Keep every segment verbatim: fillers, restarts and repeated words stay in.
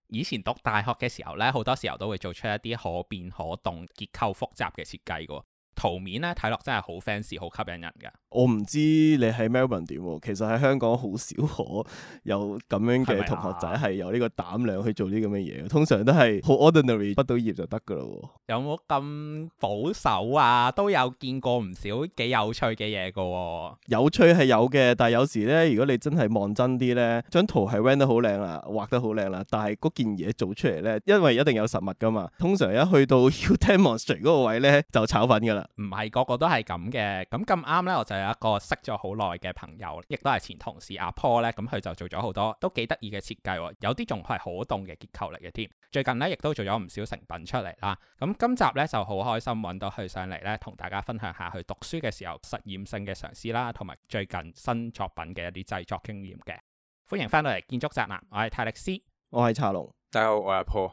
以前讀大學嘅時候呢，好多時候都會做出一啲可變可動、結構複雜嘅設計嘅。圖面咧睇落真係好 fancy 好吸引人㗎。 我唔知你喺 Melbourne 點喎，其實喺香港好少可有咁樣嘅同學仔係有呢個膽量去做啲咁嘅嘢，通常都係好 ordinary 畢到業就得㗎咯。 有冇咁保守啊？都有見過唔少幾有趣嘅嘢㗎。 有趣係有嘅，但係有時咧，如果你真係望真啲咧，張圖係 render 得好靚啦，畫得好靚啦，但係嗰件嘢做出嚟咧，因為一定有實物㗎嘛，通常一去到要 demonstrate 嗰個位咧就炒粉㗎啦。 唔係個個都係咁嘅，咁咁啱呢，我就有一個識咗好耐嘅朋友，亦都係前同事阿 Paul 呢，咁佢就做咗好多都幾得意嘅設計，有啲仲係可動嘅結構嚟嘅添。最近呢，亦都做咗唔少成品出嚟啦。咁今集呢，就好開心揾到佢上嚟呢，同大家分享下佢讀書嘅時候實驗性嘅嘗試啦，同埋最近新作品嘅一啲製作經驗嘅。歡迎翻到嚟建築宅男，我係泰力斯， 我係茶龍， 大家好，我係阿 Paul。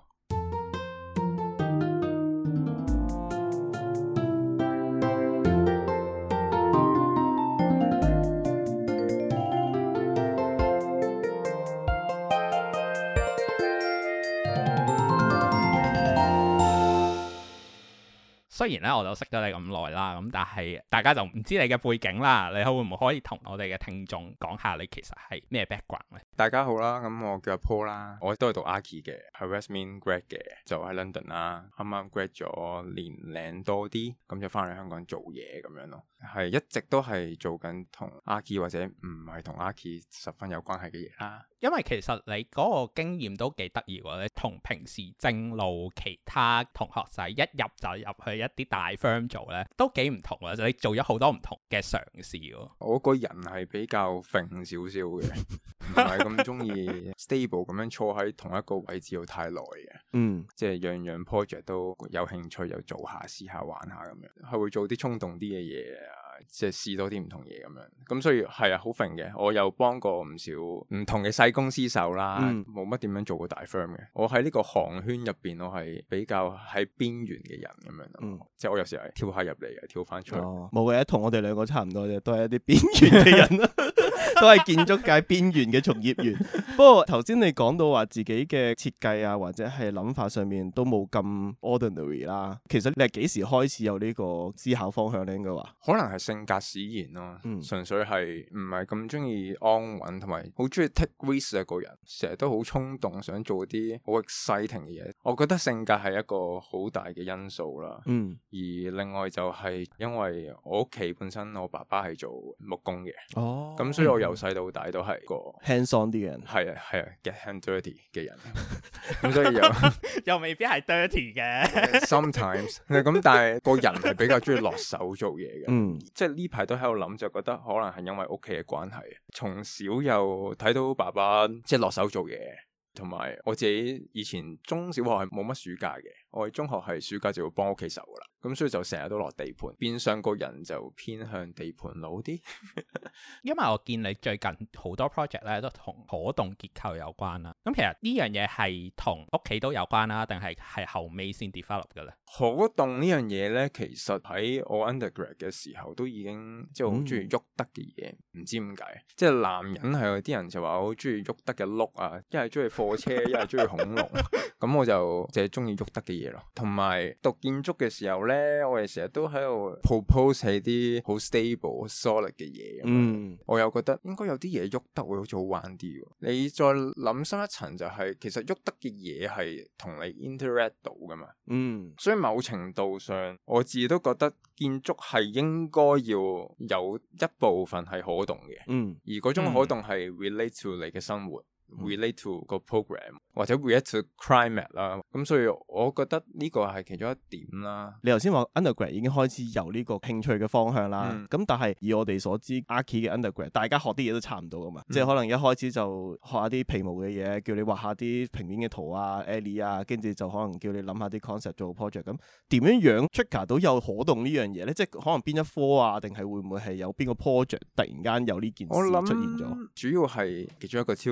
雖然咧我就識咗你咁耐啦，咁但係大家就唔知你嘅背景啦，你會唔會可以同我哋嘅聽眾講下你其實係咩 background 咧？ 大家好啦，咁我叫阿 Paul 啦，我都係讀 Archi 嘅，喺 Westmead grad 嘅，就喺 London 啦，啱啱 grad 咗年零多啲，咁就翻嚟香港做嘢咁樣咯，係一直都係做緊同 Archi 或者唔係同 Archi 十分有關係嘅嘢啦。 因為其實你嗰個經驗都幾得意喎，你同平時正路其他同學仔一入就入去一啲大 firm 做咧，都幾唔同啊！你做咗好多唔同嘅嘗試喎。 我個人係比較揈少少嘅，唔係咁中意 stable 咁樣坐喺同一個位置度太耐嘅。嗯，即係樣樣 project 都有興趣又做下試下玩下咁樣，係會做啲衝動啲嘅嘢啊。即係試多啲唔同嘢咁樣，咁所以係啊好揈嘅。我又幫過唔少唔同嘅細公司手啦，冇乜點樣做過大 firm 嘅。我喺呢個行圈入邊，我係比較喺邊緣嘅人咁樣咯。嗯、即係我有時係跳下入嚟嘅，跳翻出去。冇嘅、哦，同我哋兩個差唔多啫，都係一啲邊緣嘅人啦，都係建築界邊緣嘅從業員。不過頭先你講到話自己嘅設計啊，或者係諗法上面都冇咁 ordinary 啦。其實你係幾時開始有呢個思考方向咧？應該話可能係性格使然咯，嗯、純粹係唔係咁中意安穩，同埋好中意 take risk 嘅個人，成日都好衝動，想做啲好 exciting 嘅嘢。我覺得性格係一個好大嘅因素啦。嗯，而另外就係因為我屋企本身我爸爸係做木工嘅，哦，咁所以我由細到大都係個 hands on 啲嘅人， 係啊係啊 get hand dirty 嘅人，咁所以又又未必係 dirty 嘅 ，sometimes 咁，但係個人係比較中意落手做嘢嘅，嗯，即係呢排都喺度諗，就覺得可能係因為屋企嘅關係，從小又睇到爸爸即係落手做嘢，同埋我自己以前中小學係冇乜暑假嘅，我哋中學係暑假就會幫屋企手噶啦，咁所以就成日都落地盤，變相個人就偏向地盤佬啲。 因為我見你最近好多 project 咧都同可動結構有關啦，咁其實呢樣嘢係同屋企都有關啦，定係係後尾先 develop 嘅咧？ 可動呢樣嘢咧，其實喺我 undergrad 嘅時候都已經即係好中意喐得嘅嘢，唔、嗯、知點解，即係男人係有啲人就話好中意喐得嘅碌啊，一係中意貨車，一係中意恐龍，咁我就淨係中意喐得嘅嘢咯。同埋讀建築嘅時候咧，我哋成日都喺度 propose 係啲好 stable、solid 嘅嘢，嗯，我又覺得應該有啲嘢喐得會好似好玩啲。你再諗深一層就係、是，其實喐得嘅嘢係同你 interact 到噶嘛，嗯，所以某程度上我自己都覺得建築係應該要有一部分係可動嘅，嗯，而嗰種可動係 relate to 你嘅生活。relate to 個 program 或者 relate to climate 啦，咁所以我覺得呢個係其中一點啦。 你頭先話 undergrad 已經開始有呢個興趣嘅方向啦，咁、嗯、但係以我哋所知 Archi 嘅 undergrad 大家學啲嘢都差唔多噶嘛，嗯、即係可能一開始就學下啲皮毛嘅嘢，叫你畫下啲平面嘅圖啊 alley 啊，跟住就可能叫你諗下啲 concept 做 project， 咁點樣樣 trigger 到有可動呢樣嘢咧？即係可能邊一科啊，定係會唔會係有邊個 project 突然間有呢件事出現咗？ 主要係其中一個 tutor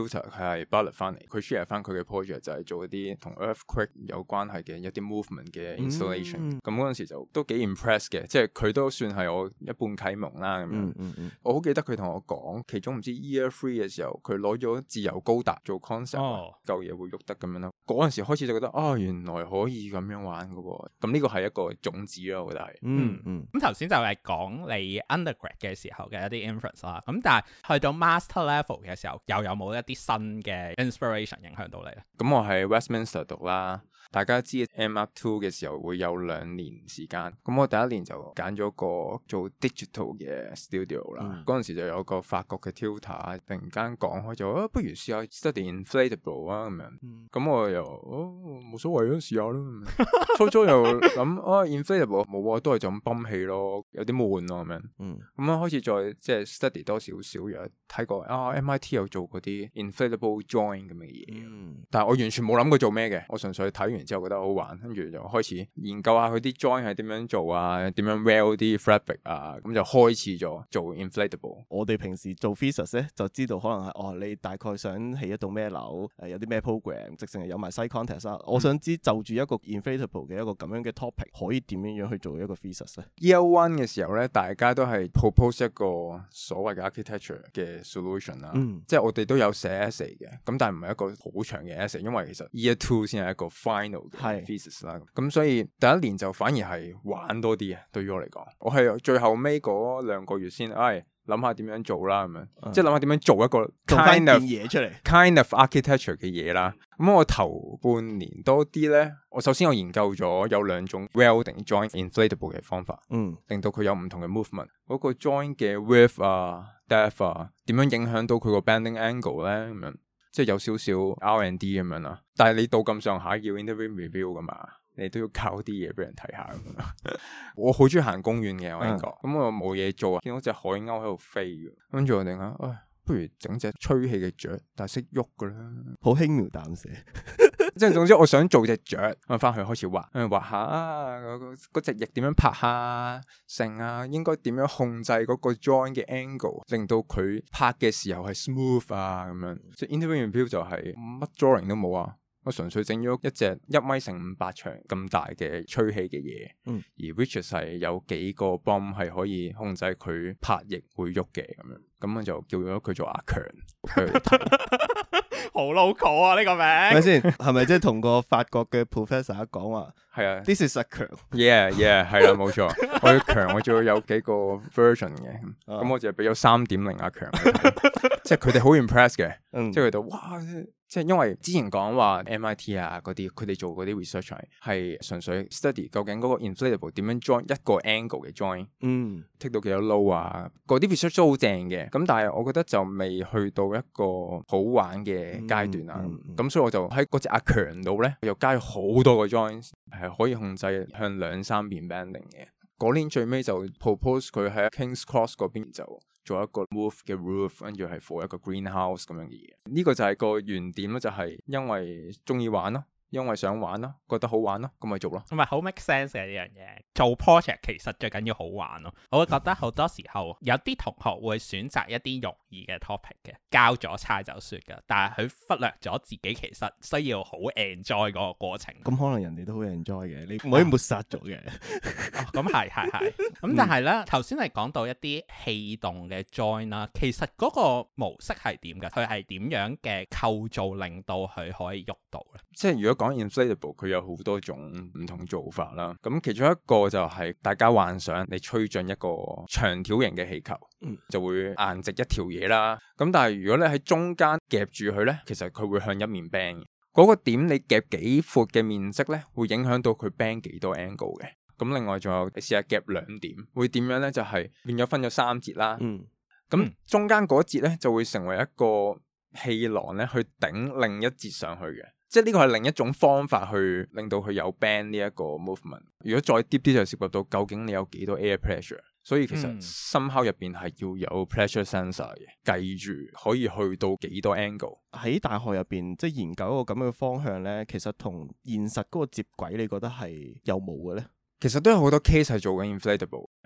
係 Bartlett 翻嚟，佢 share 翻佢嘅 project 就係做一啲同 earthquake 有關係嘅一啲 movement 嘅 installation。咁嗰陣時就都幾 impress 嘅，即係佢都算係我一半啟蒙啦咁樣。嗯嗯嗯、我好記得佢同我講，其中唔知 year three 嘅時候，佢攞咗自由高達做 concept，嚿嘢、哦、會喐得咁樣咯。嗰陣時開始就覺得啊、哦，原來可以咁樣玩噶喎。咁呢個係一個種子咯，我覺得係。 嗯嗯。咁頭先就係講你 undergrad 嘅時候嘅一啲 influence 啦。咁但係去到 master level 嘅時候，又有冇一啲新嘅 inspiration 影響到你咧？ 咁我喺 Westminster 讀啦。大家知 M R two 嘅時候會有兩年時間，咁我第一年就揀咗個做 digital 嘅 studio 啦。嗰陣、嗯、時就有個法國嘅 tutor 突然間講開咗、啊，不如試下 study inflatable 啊咁樣。咁、嗯、我又哦冇所謂咯，試下咯。初初又諗啊 inflatable 冇啊，都係就咁泵氣咯，有啲悶咯咁樣。咁樣、嗯、開始再即係 study 多少少，又睇過啊 M I T 有做嗰啲 inflatable joint 咁嘅嘢，嗯、但係我完全冇諗過做咩嘅，我純粹睇完之後覺得好玩，跟住就開始研究下佢啲 joint 係點樣做啊，點樣 weld 啲 fabric 啊，咁就開始咗做 inflatable。 我哋平時做 physics 咧，就知道可能係哦，你大概想起一棟咩樓，誒有啲咩 program，直情係有埋 site context 啦。我想知就住一個 inflatable 嘅一個咁樣嘅 topic，可以點樣樣去做一個 physics 咧 ？Year one 嘅時候咧，大家都係 propose 一個所謂嘅 architecture 嘅 solution 啦，嗯、即係我哋都有寫 essay 嘅，咁但係唔係一個好長嘅 essay，因為其實 year two 先係一個 final 嘅 physics 啦，咁所以第一年就反而係玩多啲啊。對於我嚟講，我係最後尾嗰兩個月先，唉諗下點樣做啦咁樣，嗯、即係諗下點樣做一個 kind of 嘢出嚟 ，kind of architecture 嘅嘢啦。咁我頭半年多啲咧，我首先我研究咗有兩種 welding joint inflatable 嘅方法，嗯，令到佢有唔同嘅 movement。嗰個 joint 嘅 width 啊、depth 啊，點樣影響到佢個 bending angle 咧？咁樣即係有少少 R and D 咁樣啦。但係你到咁上下要 interview review 噶嘛？你都要搞啲嘢俾人睇下咁樣。我好中意行公園嘅，我呢個咁我冇嘢做啊，見到隻海鷗喺度飛嘅，跟住我哋諗，唉，不如整隻吹氣嘅雀，但係識喐噶啦， 好輕描淡寫。 即係總之，我想做隻雀，我翻去開始畫，畫下啊，嗰隻翼點樣拍下，成啊，應該點樣控制嗰個 joint 嘅 angle，令到佢拍嘅時候係 smooth 啊咁樣。即係 interview review 就係乜 drawing 都冇啊。我純粹整咗一隻一米乘五百長咁大嘅吹氣嘅嘢，嗯、而 which 係有幾個 bomb 係可以控制佢拍翼會喐嘅咁樣，咁我就叫咗佢做阿強。 好 local 啊呢、這個名， 係咪先？係咪即係同個法國嘅 professor 講話？ 係啊 ，This is 阿強。 Yeah yeah 係啦，冇錯。我要強，我仲要有幾個 version 嘅，咁、啊、我就係俾咗三點零阿強，即係佢哋好 impress 嘅，嗯、即係佢哋哇！即係因為之前講話 M I T 啊嗰啲，佢哋做嗰啲 research 係純粹 study 究竟嗰個 inflatable 點樣 join 一個 angle 嘅 join，嗯，take 到幾多 low 啊，嗰啲 research 都好正嘅。咁但係我覺得就未去到一個好玩嘅階段啊。咁、嗯嗯嗯、所以我就喺嗰隻阿強度咧，又加咗好多個 join，係可以控制向兩三邊 bending 嘅。嗰年最尾就 propose 佢喺 King's Cross 嗰邊就做一個 roof 嘅 roof， 跟住係 for 一個 greenhouse 咁樣嘅嘢。呢、這個就係個原點咯，就係因為中意玩咯。因為想玩咯，覺得好玩咯，咁咪做咯。 同埋好 make sense 嘅呢樣嘢。做 project 其實最緊要好玩咯。我會覺得好多時候有啲同學會選擇一啲容易嘅 topic 嘅，交咗差就算噶。但係佢忽略咗自己其實需要好 enjoy 嗰個過程。 咁可能人哋都好 enjoy 嘅，你唔可以抹殺咗嘅。 咁係係係。咁但係咧，頭先你講到一啲氣動嘅 join 啦，其實嗰個模式係點嘅？佢係點樣嘅構造令到佢可以喐到咧？ 即係如果講 inflatable 佢有好多種唔同做法啦，咁其中一個就係大家幻想你吹進一個長條形嘅氣球，嗯、就會硬直一條嘢啦。咁但係如果你喺中間夾住佢呢，其實佢會向一面 bend 嘅。嗰個點你夾幾闊嘅面積呢，會影響到佢 bend 幾多 angle 嘅。咁另外仲有你試下夾兩點，會點樣呢？就係變咗分咗三節啦。嗯，咁中間嗰節呢，就會成為一個氣囊呢，去頂另一節上去嘅。即係呢個係另一種方法去令到佢有 bend 呢一個 movement。如果再 deep 啲就涉及到究竟你有幾多 air pressure。所以其實深烤入邊係要有 pressure sensor 嘅，計住可以去到幾多 angle。 喺大學入邊即係研究一個咁樣嘅方向咧，其實同現實嗰個接軌，你覺得係有冇嘅咧？ 其實都有好多 case 係做緊 inflatable。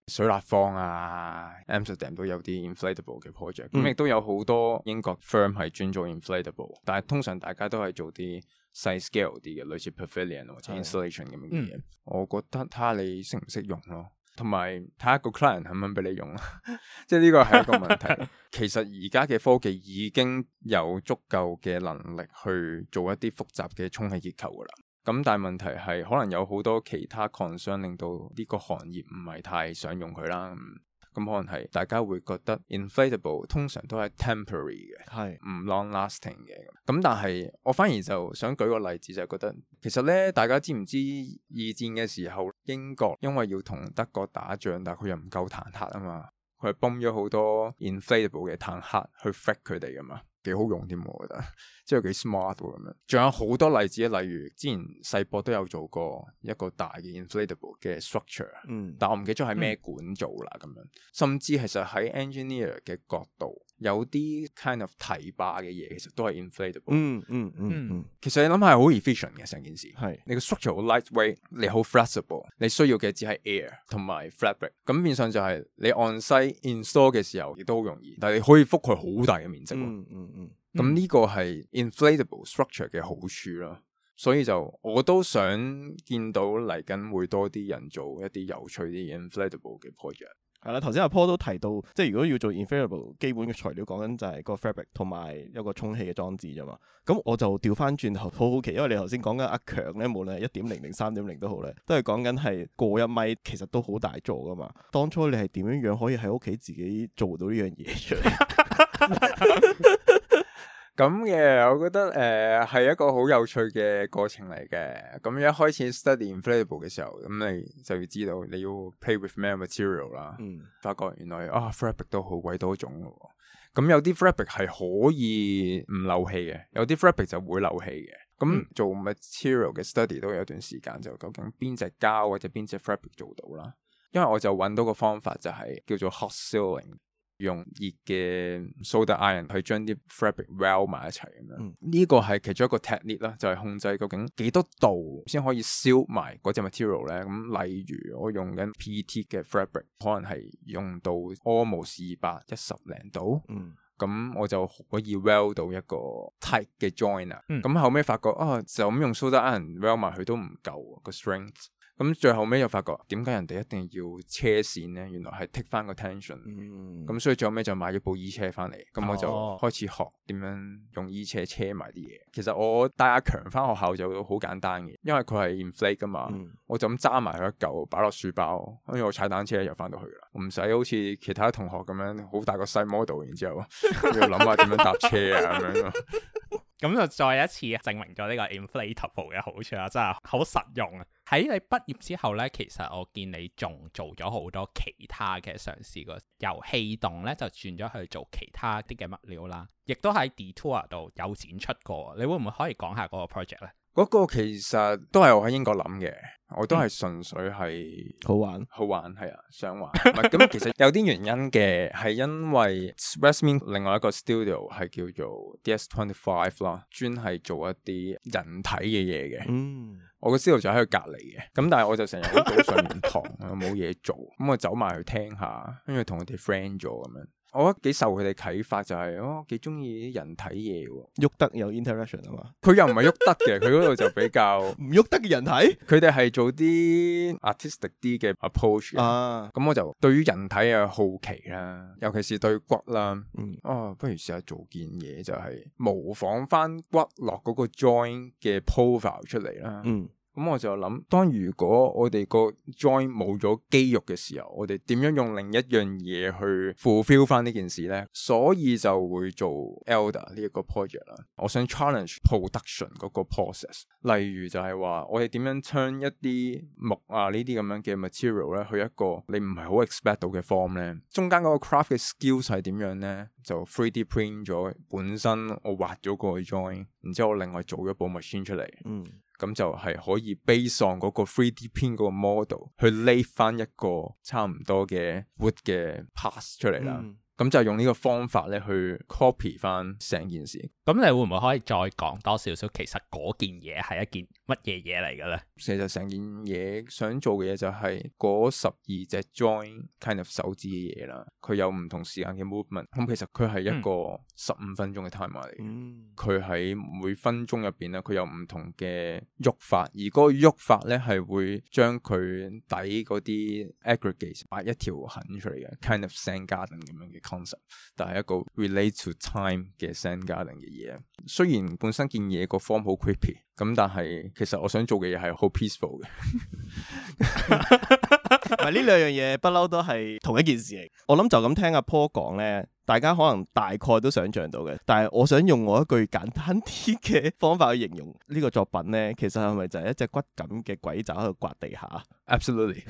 水立方啊 Amsterdam 都有啲 inflatable 嘅 project， 咁亦、嗯、都有好多英國 firm 係專做 inflatable， 但係通常大家都係做啲細 scale 啲嘅，類似 pavilion 或者 installation 咁嘅嘢。嗯、我覺得睇下你識唔識用咯，同埋睇下個 client 肯唔肯俾你用啦。即係呢個係一個問題。其實而家嘅科技已經有足夠嘅能力去做一啲複雜嘅充氣結構噶啦。咁但係問題係可能有好多其他 concern 令到呢個行業唔係太想用佢啦。咁可能係大家會覺得 inflatable 通常都係 temporary 嘅，係唔 long lasting 嘅。咁但係我反而就想舉個例子，就係覺得其實咧，大家知唔知二戰嘅時候英國因為要同德國打仗，但係佢又唔夠坦克啊嘛，佢係泵咗好多 inflatable 嘅坦克去 fight 佢哋噶嘛。幾好用添，我覺得，即係幾 smart 咁樣。仲有好多例子，例如之前世博都有做過一個大嘅 inflatable 嘅 structure，嗯，但我唔記得咗係咩管做啦咁樣。甚至其實喺 engineer 嘅角度，有啲 kind of 提拔嘅嘢，其實都係 inflatable。嗯嗯嗯嗯。其實你諗下係好 efficient 嘅成件事，係你個 structure 好 lightweight，你好 flexible，你需要嘅只係 air 同埋 fabric。咁變相就係你 on site install 嘅時候亦都好容易，但係你可以覆蓋好大嘅面積。嗯嗯。嗯，咁呢個係 inflatable structure 嘅好處啦，所以就我都想見到嚟緊會多啲人做一啲有趣啲 inflatable 嘅 project。 係啦，頭先阿 Paul 都提到，即係如果要做 inflatable， 基本嘅材料講緊就係個 fabric 同埋一個充氣嘅裝置啫嘛。咁我就調翻轉頭好好奇，因為你頭先講緊阿強咧，無論係一點零定三點零都好咧，都係講緊係過一米，其實都好大座噶嘛。當初你係點樣樣可以喺屋企自己做到呢樣嘢出嚟？ 咁嘅，我覺得誒係、呃、一個好有趣嘅過程嚟嘅。咁一開始 study inflatable 嘅時候，咁你就要知道你要 play with 咩 material 啦。嗯，發覺原來啊 fabric 都好鬼多種咯。咁有啲 fabric 係可以唔漏氣嘅，有啲 fabric 就會漏氣嘅。咁、嗯、做 material 嘅 study 都有一段時間，就究竟邊隻膠或者邊隻 fabric 做到啦。因為我就揾到個方法就係叫做 hot sealing。用熱嘅 solder iron 去將啲 fabric weld 埋一齊咁樣，呢、嗯、個係其中一個 technique 啦，就係控制究竟幾多度先可以燒埋嗰隻 material 咧。咁例如我用緊 P E T 嘅 fabric， 可能係用到 almost 二百一十零度，咁、嗯、我就可以 weld 到一個 tight 嘅 joint 啊。咁、嗯、後尾發覺啊，就咁用 solder iron weld 埋佢都唔夠個 strength。咁最後尾又發覺點解人哋一定要車線咧？原來係 take 翻個 tension。咁、嗯、所以最後尾就買咗部衣車翻嚟，咁、哦、我就開始學點樣用衣車車埋啲嘢。其實我帶阿強翻學校就好簡單嘅，因為佢係 inflate 噶嘛，嗯、我就咁揸埋佢一嚿擺落書包，跟住我踩單車又翻到去啦，唔使好似其他同學咁樣好大個細 model， 然之後要諗下點樣搭車啊咁樣咯。 咁就再一次證明咗呢個 inflatable 嘅好處啦，真係好實用啊！喺你畢業之後呢，其實我見你仲做咗好多其他嘅嘗試過，由氣動呢就轉咗去做其他啲嘅物料啦，亦都喺 Detour 度有展出過。你會唔會可以講下嗰個 project 呢？ 嗰個其實都係我喺英國諗嘅，我都係純粹係好玩， 好玩係啊，想玩。咁其實有啲原因嘅，係因為 Westmead 另外一個 studio 係叫做 D S twenty-five 啦，專係做一啲人體嘅嘢嘅。嗯，我個 studio 就喺佢隔離嘅，咁但係我就成日好早上完堂，冇嘢做，咁我走埋去聽下，跟住同佢哋 friend 咗咁樣。我覺得幾受佢哋啟發，就係、是、我幾中意啲人體嘢喎， 喐得有 interaction 啊嘛。佢又唔係喐得嘅，佢嗰度就比較唔喐得嘅人體。 佢哋係做啲 artistic 啲嘅 approach 啊。咁我就對於人體嘅好奇啦，尤其是對骨啦。嗯，哦，不如試下做件嘢，就係模仿翻骨落嗰個 joint 嘅 profile 出嚟啦。嗯。咁我就諗，當如果我哋個 joint 冇咗肌肉嘅時候，我哋點樣用另一樣嘢去 fulfill 翻呢件事呢？所以就會做 Elder 呢一個 project 啦。我想 challenge production 嗰個 process， 例如就係話我哋點樣 turn 一啲木啊呢啲咁樣嘅 material 咧，去一個你唔係好 expect 到嘅 form 呢。中間嗰個 craft 嘅 skills 係點樣呢？就 three D print 咗本身我畫咗個 joint， 然之後我另外做咗部 machine 出嚟。嗯。咁就係可以 base on 嗰個 three D print 嗰個 model 去 lay 翻一個差唔多嘅 wood 嘅 parts 出嚟啦。 咁就用呢個方法咧去 copy 翻成件事。 咁你會唔會可以再講多少少？其實嗰件嘢係一件乜嘢嘢嚟嘅咧？ 其實成件嘢想做嘅嘢就係嗰十二隻 join kind of 手指嘅嘢啦。佢有唔同時間嘅 movement。咁其實佢係一個十五分鐘嘅 timer 嚟嘅。佢喺、嗯、每分鐘入邊咧，佢有唔同嘅喐法，而嗰個喐法咧係會將佢底嗰啲 aggregates 畫一條痕出嚟嘅 kind of Zen garden 咁樣嘅 concept， 但係一個 relate to time 嘅 Zen garden 嘅嘢。雖然本身件嘢個 form 好 creepy， 咁但係其實我想做嘅嘢係好 peaceful 嘅。 唔係呢兩樣嘢不嬲都係同一件事嚟。我諗就咁聽阿 Paul 講咧，大家可能大概都想象到嘅。但係我想用我一句簡單啲嘅方法去形容呢個作品咧，其實係咪就係一隻骨感嘅鬼爪喺度刮地下 ？Absolutely。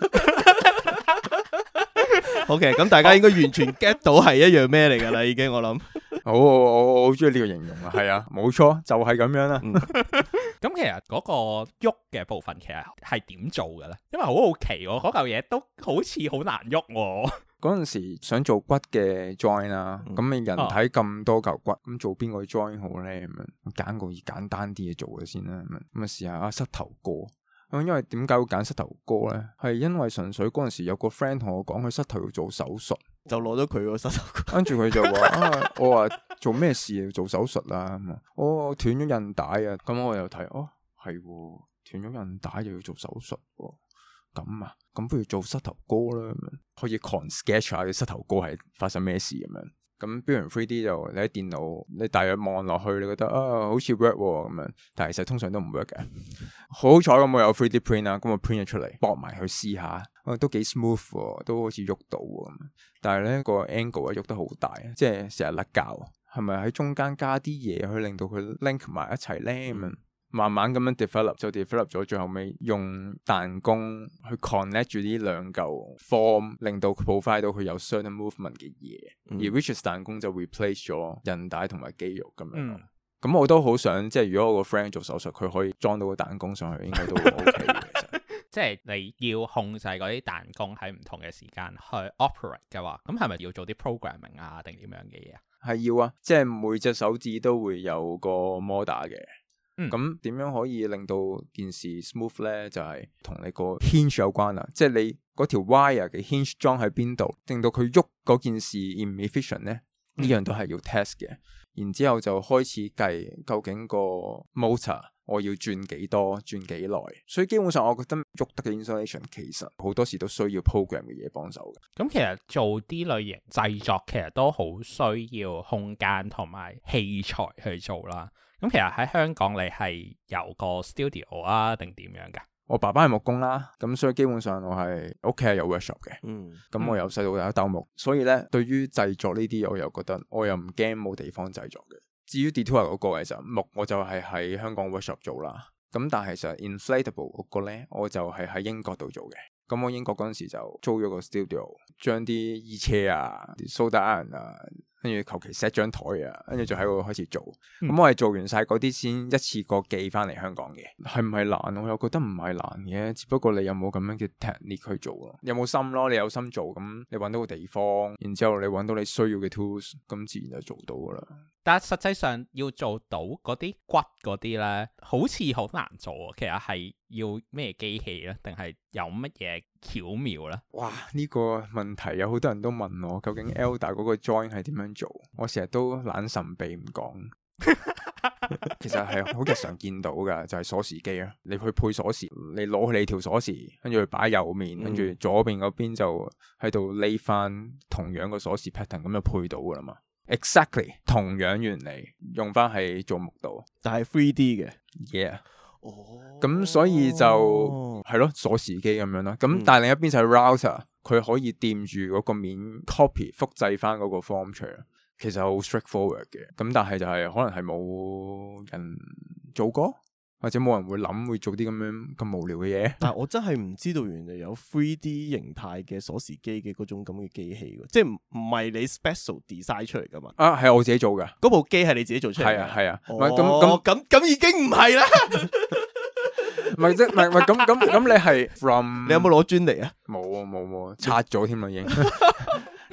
OK， 咁大家應該完全 get 到係一樣咩嚟㗎啦，已經我諗。 好，我我好中意呢個形容啊，係啊，冇錯，就係、是、咁樣啦。 咁其實嗰個喐嘅部分其實係點做嘅咧？因為好好奇喎，嗰嚿嘢都好似好難喐喎。 嗰陣時想做骨嘅 join 啦，咁你、嗯、人體咁多嚿骨，咁、啊、做邊個 join 好咧？咁樣揀個簡單啲嘢做嘅先啦。咁啊，咁啊試下啊膝頭哥。咁因為點解會揀膝頭哥咧？係因為純粹嗰陣時有個 friend 同我講佢膝頭要做手術，就攞咗佢個膝頭哥。跟住佢就話啊，我話做咩事要做手術啊？我斷咗韌帶啊！咁我又睇哦，係斷咗韌帶又要做手術喎。咁啊，咁不如做膝頭哥啦，可以 con sketch 下嘅膝頭哥係發生咩事咁樣。咁 build 完 three D 就你喺電腦，你大約望落去，你覺得啊好似 work 咁樣，但係其實通常都唔 work 嘅。好彩咁我有 three D print 啦，咁我 print 咗出嚟，駁埋去試下，啊都幾 smooth，都好似喐到咁。但係咧個 angle 啊喐得好大，即係成日甩膠。係咪喺中間加啲嘢去令到佢 link 埋一齊咧？咁樣、嗯、慢慢咁樣 develop 就 develop 咗，最後尾用彈弓去 connect 住呢兩嚿 form， 令到 provide 到佢有 certain movement 嘅嘢。嗯、而 which is 彈弓就 replace 咗韌帶同埋肌肉咁樣。咁、嗯、我都好想，即係如果我個 friend 做手術，佢可以裝到個彈弓上去，應該都 OK 嘅。其實即係你要控制嗰啲彈弓喺唔同嘅時間去 operate 嘅話，咁係咪要做啲 programming 啊，定點樣嘅嘢啊？ 係要啊，即係每隻手指都會有個 motor 嘅。咁點、嗯、樣可以令到件事 smooth 咧？就係、是、同你個 hinge 有關啦。即係你嗰條 wire 嘅 hinge 裝喺邊度，令到佢喐嗰件事 inefficient 咧？呢、嗯、樣都係要 test 嘅。然之後就開始計究竟個 motor 我要轉幾多、轉幾耐。所以基本上我覺得喐得嘅 installation 其實好多時都需要 program 嘅嘢幫手嘅。 咁其實做啲類型製作其實都好需要空間同埋器材去做啦。咁其實喺香港你係有個 studio 啊定點樣㗎？ 我爸爸係木工啦，咁所以基本上我係屋企係有 workshop 嘅。嗯，咁我由細到大都鬥木，所以咧對於製作呢啲我又覺得我又唔驚冇地方製作嘅。至於 detour 嗰個其實木我就係喺香港 workshop 做啦，咁但係其實 inflatable 嗰個咧我就係喺英國度做嘅。咁我英國嗰陣時就租咗個 studio， 將啲衣車啊、啲 soda iron 啊，跟住求其 set 張台啊，跟住就喺度開始做。咁、嗯、我係做完晒嗰啲先一次過寄翻嚟香港嘅。係唔係難？我又覺得唔係難嘅，只不過你有冇咁樣嘅 technique 去做咯？有冇心咯？你有心做，咁你揾到個地方，然之後你揾到你需要嘅 tools，咁自然就做到噶啦。 但係實際上要做到嗰啲骨嗰啲咧，好似好難做啊！其實係要咩機器咧，定係有乜嘢巧妙咧？哇！ 呢個問題有好多人都問我，究竟 Elder 嗰個 join 係點樣做？我成日都懶神秘唔講。其實係好日常見到噶，就係鎖匙機啊！你去配鎖匙，你攞起你條鎖匙，跟住去擺右面，跟住、嗯、左邊嗰邊就喺度 lay 翻同樣個鎖匙 pattern， 咁就配到噶啦嘛。Exactly 同樣原理用翻喺做木度， 但係 three D 嘅 ，yeah，哦，咁所以就係咯鎖匙機咁樣咯，咁、嗯、但係另一邊就係 router，佢可以掂住嗰個面 copy 複製翻嗰個 form 出嚟，其實好 straightforward 嘅，咁但係就係可能係冇人做過。或者冇人會諗會做啲咁樣咁無聊嘅嘢， 但係我真係唔知道原來有 three D 形態嘅鎖匙機嘅嗰種咁嘅機器，即係唔唔係你 special design 出嚟噶嘛？ 啊，係我自己做噶， 嗰部機係你自己做出嚟？ 係啊係啊， 唔係咁咁咁咁已經唔係啦， 唔係即係唔係唔係咁咁咁你係 from 你有冇攞專利啊？ 冇冇冇，拆咗添啦已經。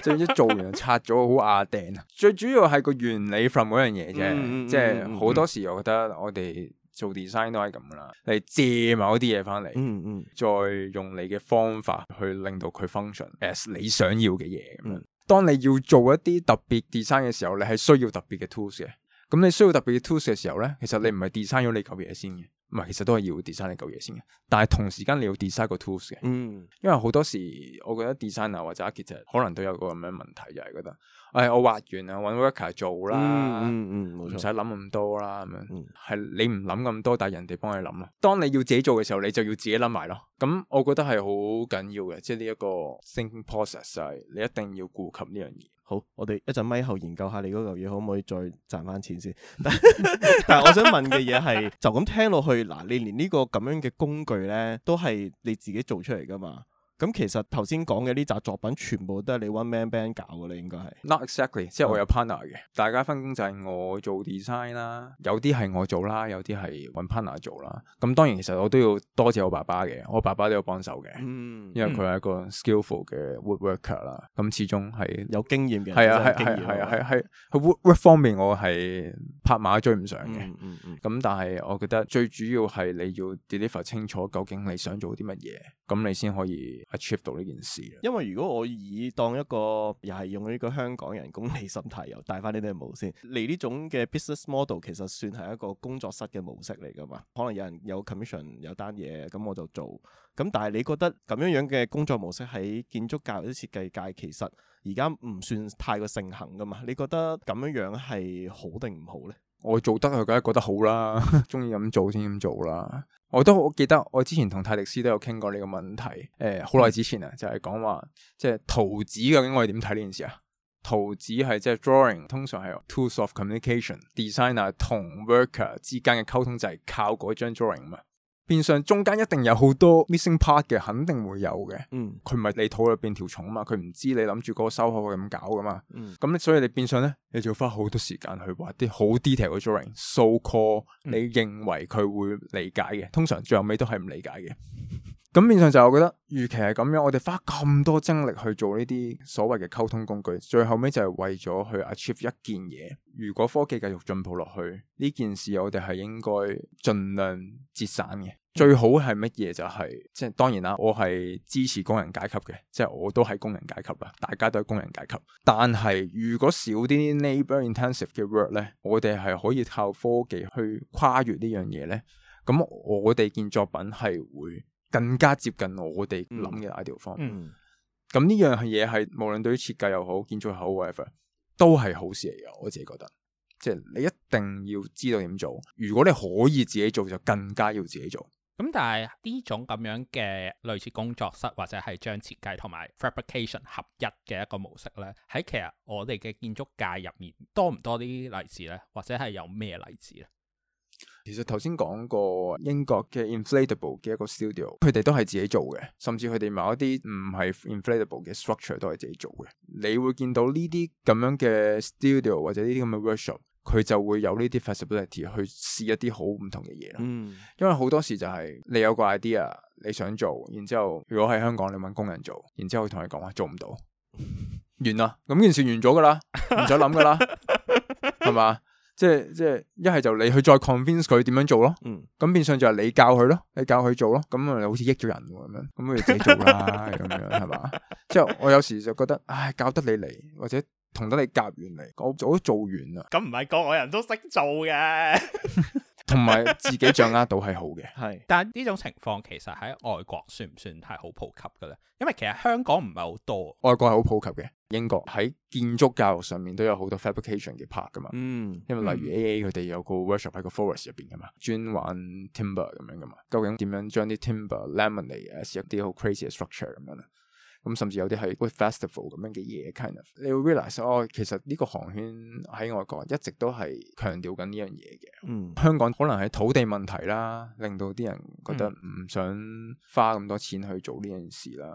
即係一做完就拆咗，好亞釘啊！最主要係個原理 from 嗰樣嘢啫，嗯、即係好多時我覺得我哋做 design 都係咁噶啦，你借某啲嘢翻嚟，嗯嗯、再用你嘅方法去令到佢 function as 你想要嘅嘢咁樣。嗯、當你要做一啲特別 design 嘅時候，你係需要特別嘅 tools 嘅。咁你需要特別嘅 tools 嘅時候咧，其實你唔係 design 咗你嚿嘢先嘅，唔係，其實都係要 design 你嚿嘢先嘅。但係同時間你要 design 個 tools 嘅，嗯，因為好多時我覺得 designer 或者 architect 可能都有個咁樣問題，就係、是、覺得，誒、哎，我畫完啊，搵 worker 做啦，嗯嗯，唔使諗咁多啦，咁樣，係、嗯、你唔諗咁多，但係人哋幫你諗咯。當你要自己做嘅時候，你就要自己諗埋咯。咁我覺得係好緊要嘅，即係呢一個 thinking process 就係你一定要顧及呢樣嘢。 好，我哋一陣咪後研究下你嗰嚿嘢可唔可以再賺翻錢先。但但係我想問嘅嘢係，就咁聽落去，嗱，你連呢個咁樣嘅工具咧，都係你自己做出嚟噶嘛？咁其實頭先講嘅呢紮作品，全部都係你 one man band 搞嘅咧，應該係。 Not exactly，即係我有 partner 嘅，嗯、大家分工就係我做 design 啦，有啲係我做啦，有啲係揾 partner 做啦。咁當然其實我都要多謝我爸爸嘅，我爸爸都有幫手嘅，嗯、因為佢係一個 skillful 嘅 woodworker 啦。咁始終係有經驗嘅， 係啊係係係啊係係喺 woodwork 方面我係拍馬追唔上嘅。咁、嗯嗯嗯、但係我覺得最主要係你要 deliver 清楚究竟你想做啲乜嘢，咁你先可以achieve 到呢件事。 因為如果我以當一個又係用呢個香港人功利心態，又帶翻呢啲帽先，你呢種嘅 business model 其實算係一個工作室嘅模式嚟噶嘛？可能有人有 commission 有單嘢，咁我就做。咁但係你覺得咁樣樣嘅工作模式喺建築界或者設計界，其實而家唔算太過盛行噶嘛？你覺得咁樣樣係好定唔好呢？ 我做得佢梗係覺得好啦，中意咁做先咁做啦。我都好記得我之前同泰迪斯都有傾過呢個問題。誒、呃，好耐之前啊，就係講話即係圖紙究竟我哋點睇呢件事啊？圖紙係即係 drawing，通常係 tools of communication，designer 同 worker 之間嘅溝通就係靠嗰張 drawing 嘛。變相中間一定有好多 missing part 嘅，肯定會有嘅。嗯，佢唔係你肚入邊條蟲啊嘛，佢唔知你諗住嗰個收口係咁搞噶嘛。嗯，咁所以你變相咧，你就要花好多時間去畫啲好 detail 嘅 drawing，so call 你認為佢會理解嘅，通常最後尾都係唔理解嘅。咁變相就我覺得，與其係咁樣，我哋花咁多精力去做呢啲所謂嘅溝通工具，最後尾就係為咗去 achieve 一件嘢。如果科技繼續進步落去，呢件事我哋係應該盡量節省嘅。最好係乜嘢就係、是，即係當然啦，我係支持工人階級嘅，即係我都係工人階級啦，大家都係工人階級。但係如果少啲 labour intensive 嘅 work 咧，我哋係可以靠科技去跨越呢樣嘢咧。咁我哋件作品係會更加接近我哋諗嘅 ideal form。嗯，咁呢樣嘢係無論對於設計又好，建築又好 whatever，都係好事嚟嘅。我自己覺得，即係你一定要知道點做。如果你可以自己做，就更加要自己做。 咁但係呢種咁樣嘅類似工作室或者係將設計同埋 fabrication 合一嘅一個模式咧，喺其實我哋嘅建築界入面多唔多啲例子咧？或者係有咩例子咧？ 其實頭先講過英國嘅 inflatable 嘅一個 studio，佢哋都係自己做嘅，甚至佢哋某一啲唔係 inflatable 嘅 structure 都係自己做嘅。你會見到呢啲咁樣嘅 studio 或者呢啲咁嘅 workshop，佢就會有呢啲 flexibility 去試一啲好唔同嘅嘢咯。嗯，因為好多時就係你有個 idea 你想做，然之後如果喺香港你搵工人做，然之後佢同你講話做唔到，完啦，咁件事完咗噶啦，唔使諗噶啦，係嘛？即係即係一係就你去再 convince 佢點樣做咯。嗯，咁變相就係你教佢咯，你教佢做咯，咁啊好似益咗人咁樣，咁佢自己做啦咁樣係嘛？即係我有時就覺得，唉，教得你嚟或者同得你夾完嚟，我早都做完啦。 咁唔係個個人都識做嘅。 同埋自己掌握到係好嘅，係。 但係呢種情況其實喺外國算唔算係好普及嘅咧？因為其實香港唔係好多， 外國係好普及嘅。英國喺建築教育上面都有好多 fabrication 嘅 part 噶嘛。嗯，因為例如 A A 佢哋有個 workshop 喺個 forest 入邊噶嘛，專玩 timber 咁樣噶嘛。究竟點樣將啲 timber laminate as 一啲好 crazy 嘅 structure 咁樣咧？咁甚至有啲係 wood festival 咁樣嘅嘢 kind of，你會 realize 哦，其實呢個行圈喺外國一直都係強調緊呢樣嘢嘅。嗯，香港可能係土地問題啦，令到啲人覺得唔想花咁多錢去做呢件事啦。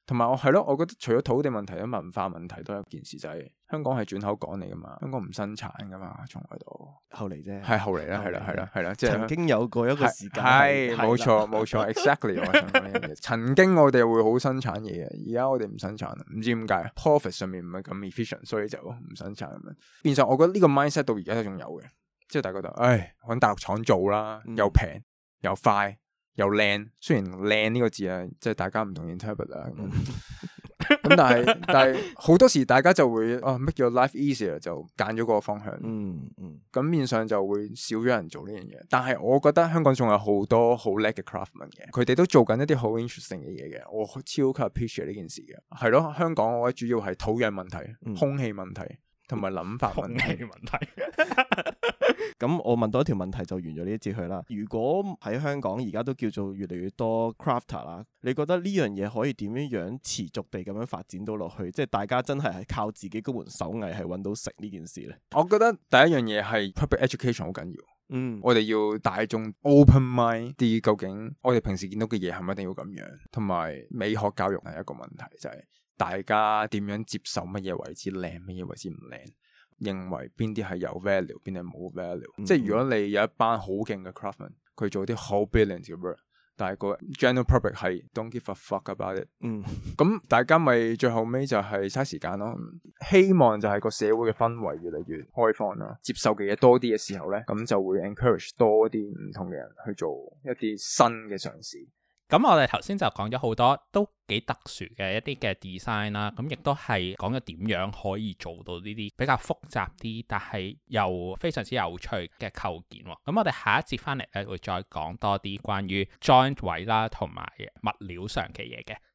同埋我係咯，我覺得除咗土地問題，咧文化問題都有一件事，就係、是、香港係轉口港嚟噶嘛，香港唔生產噶嘛，從來都後嚟啫， 係後嚟啦，係啦，係啦，係啦，即係曾經有過一個時間係冇錯冇錯 ，exactly 我想講呢樣嘢。曾經我哋會好生產嘢嘅，而家我哋唔生產，唔知點解 profit 上面唔係咁 efficient，所以就唔生產咁樣。變相我覺得呢個 mindset 到而家都仲有嘅，即係大家覺得，唉，揾大陸廠做啦，又平又快。又靚，雖然靚呢個字啊，即係大家唔同 interpret 啊。咁但係但係好多時大家就會啊 make your life easier 就揀咗嗰個方向。嗯嗯。咁面上就會少咗人做呢樣嘢。但係我覺得香港仲有好多好叻嘅 craftman 嘅，佢哋都做緊一啲好 interesting 嘅嘢嘅。我超級 appreciate 呢件事嘅。係咯，香港我覺得主要係土壤問題、嗯、空氣問題同埋諗法問題。 問題。 咁我問多一條問題就完咗呢一節去啦。如果喺香港而家都叫做越嚟越多 crafter 啦，你覺得呢樣嘢可以點樣樣持續地咁樣發展到落去？即係大家真係係靠自己嗰門手藝係揾到食呢件事呢？ 我覺得第一樣嘢係 public education 好緊要。 嗯， 我哋要大眾 open mind 啲，究竟我哋平時見到嘅嘢係咪一定要咁樣？同埋美學教育係一個問題，就係、是、大家點樣接受乜嘢為之靚，乜嘢為之唔靚？認為邊啲係有 value， 邊啲冇 value，嗯、即係如果你有一班好勁嘅 craftman，佢做啲好 brilliant 嘅 work， 但係個 general public 係 don't give a fuck about it，嗯，咁大家咪最後尾就係嘥時間咯。希望就係個社會嘅氛圍越嚟越開放啦，接受嘅嘢多啲嘅時候咧，咁就會 encourage 多啲唔同嘅人去做一啲新嘅嘗試。 咁我哋頭先就講咗好多都幾特殊嘅一啲嘅 design 啦，咁亦都係講咗點樣可以做到呢啲比較複雜啲，但係又非常之有趣嘅構件。咁我哋下一節翻嚟咧會再講多啲關於 joint 位啦同埋物料上嘅嘢嘅。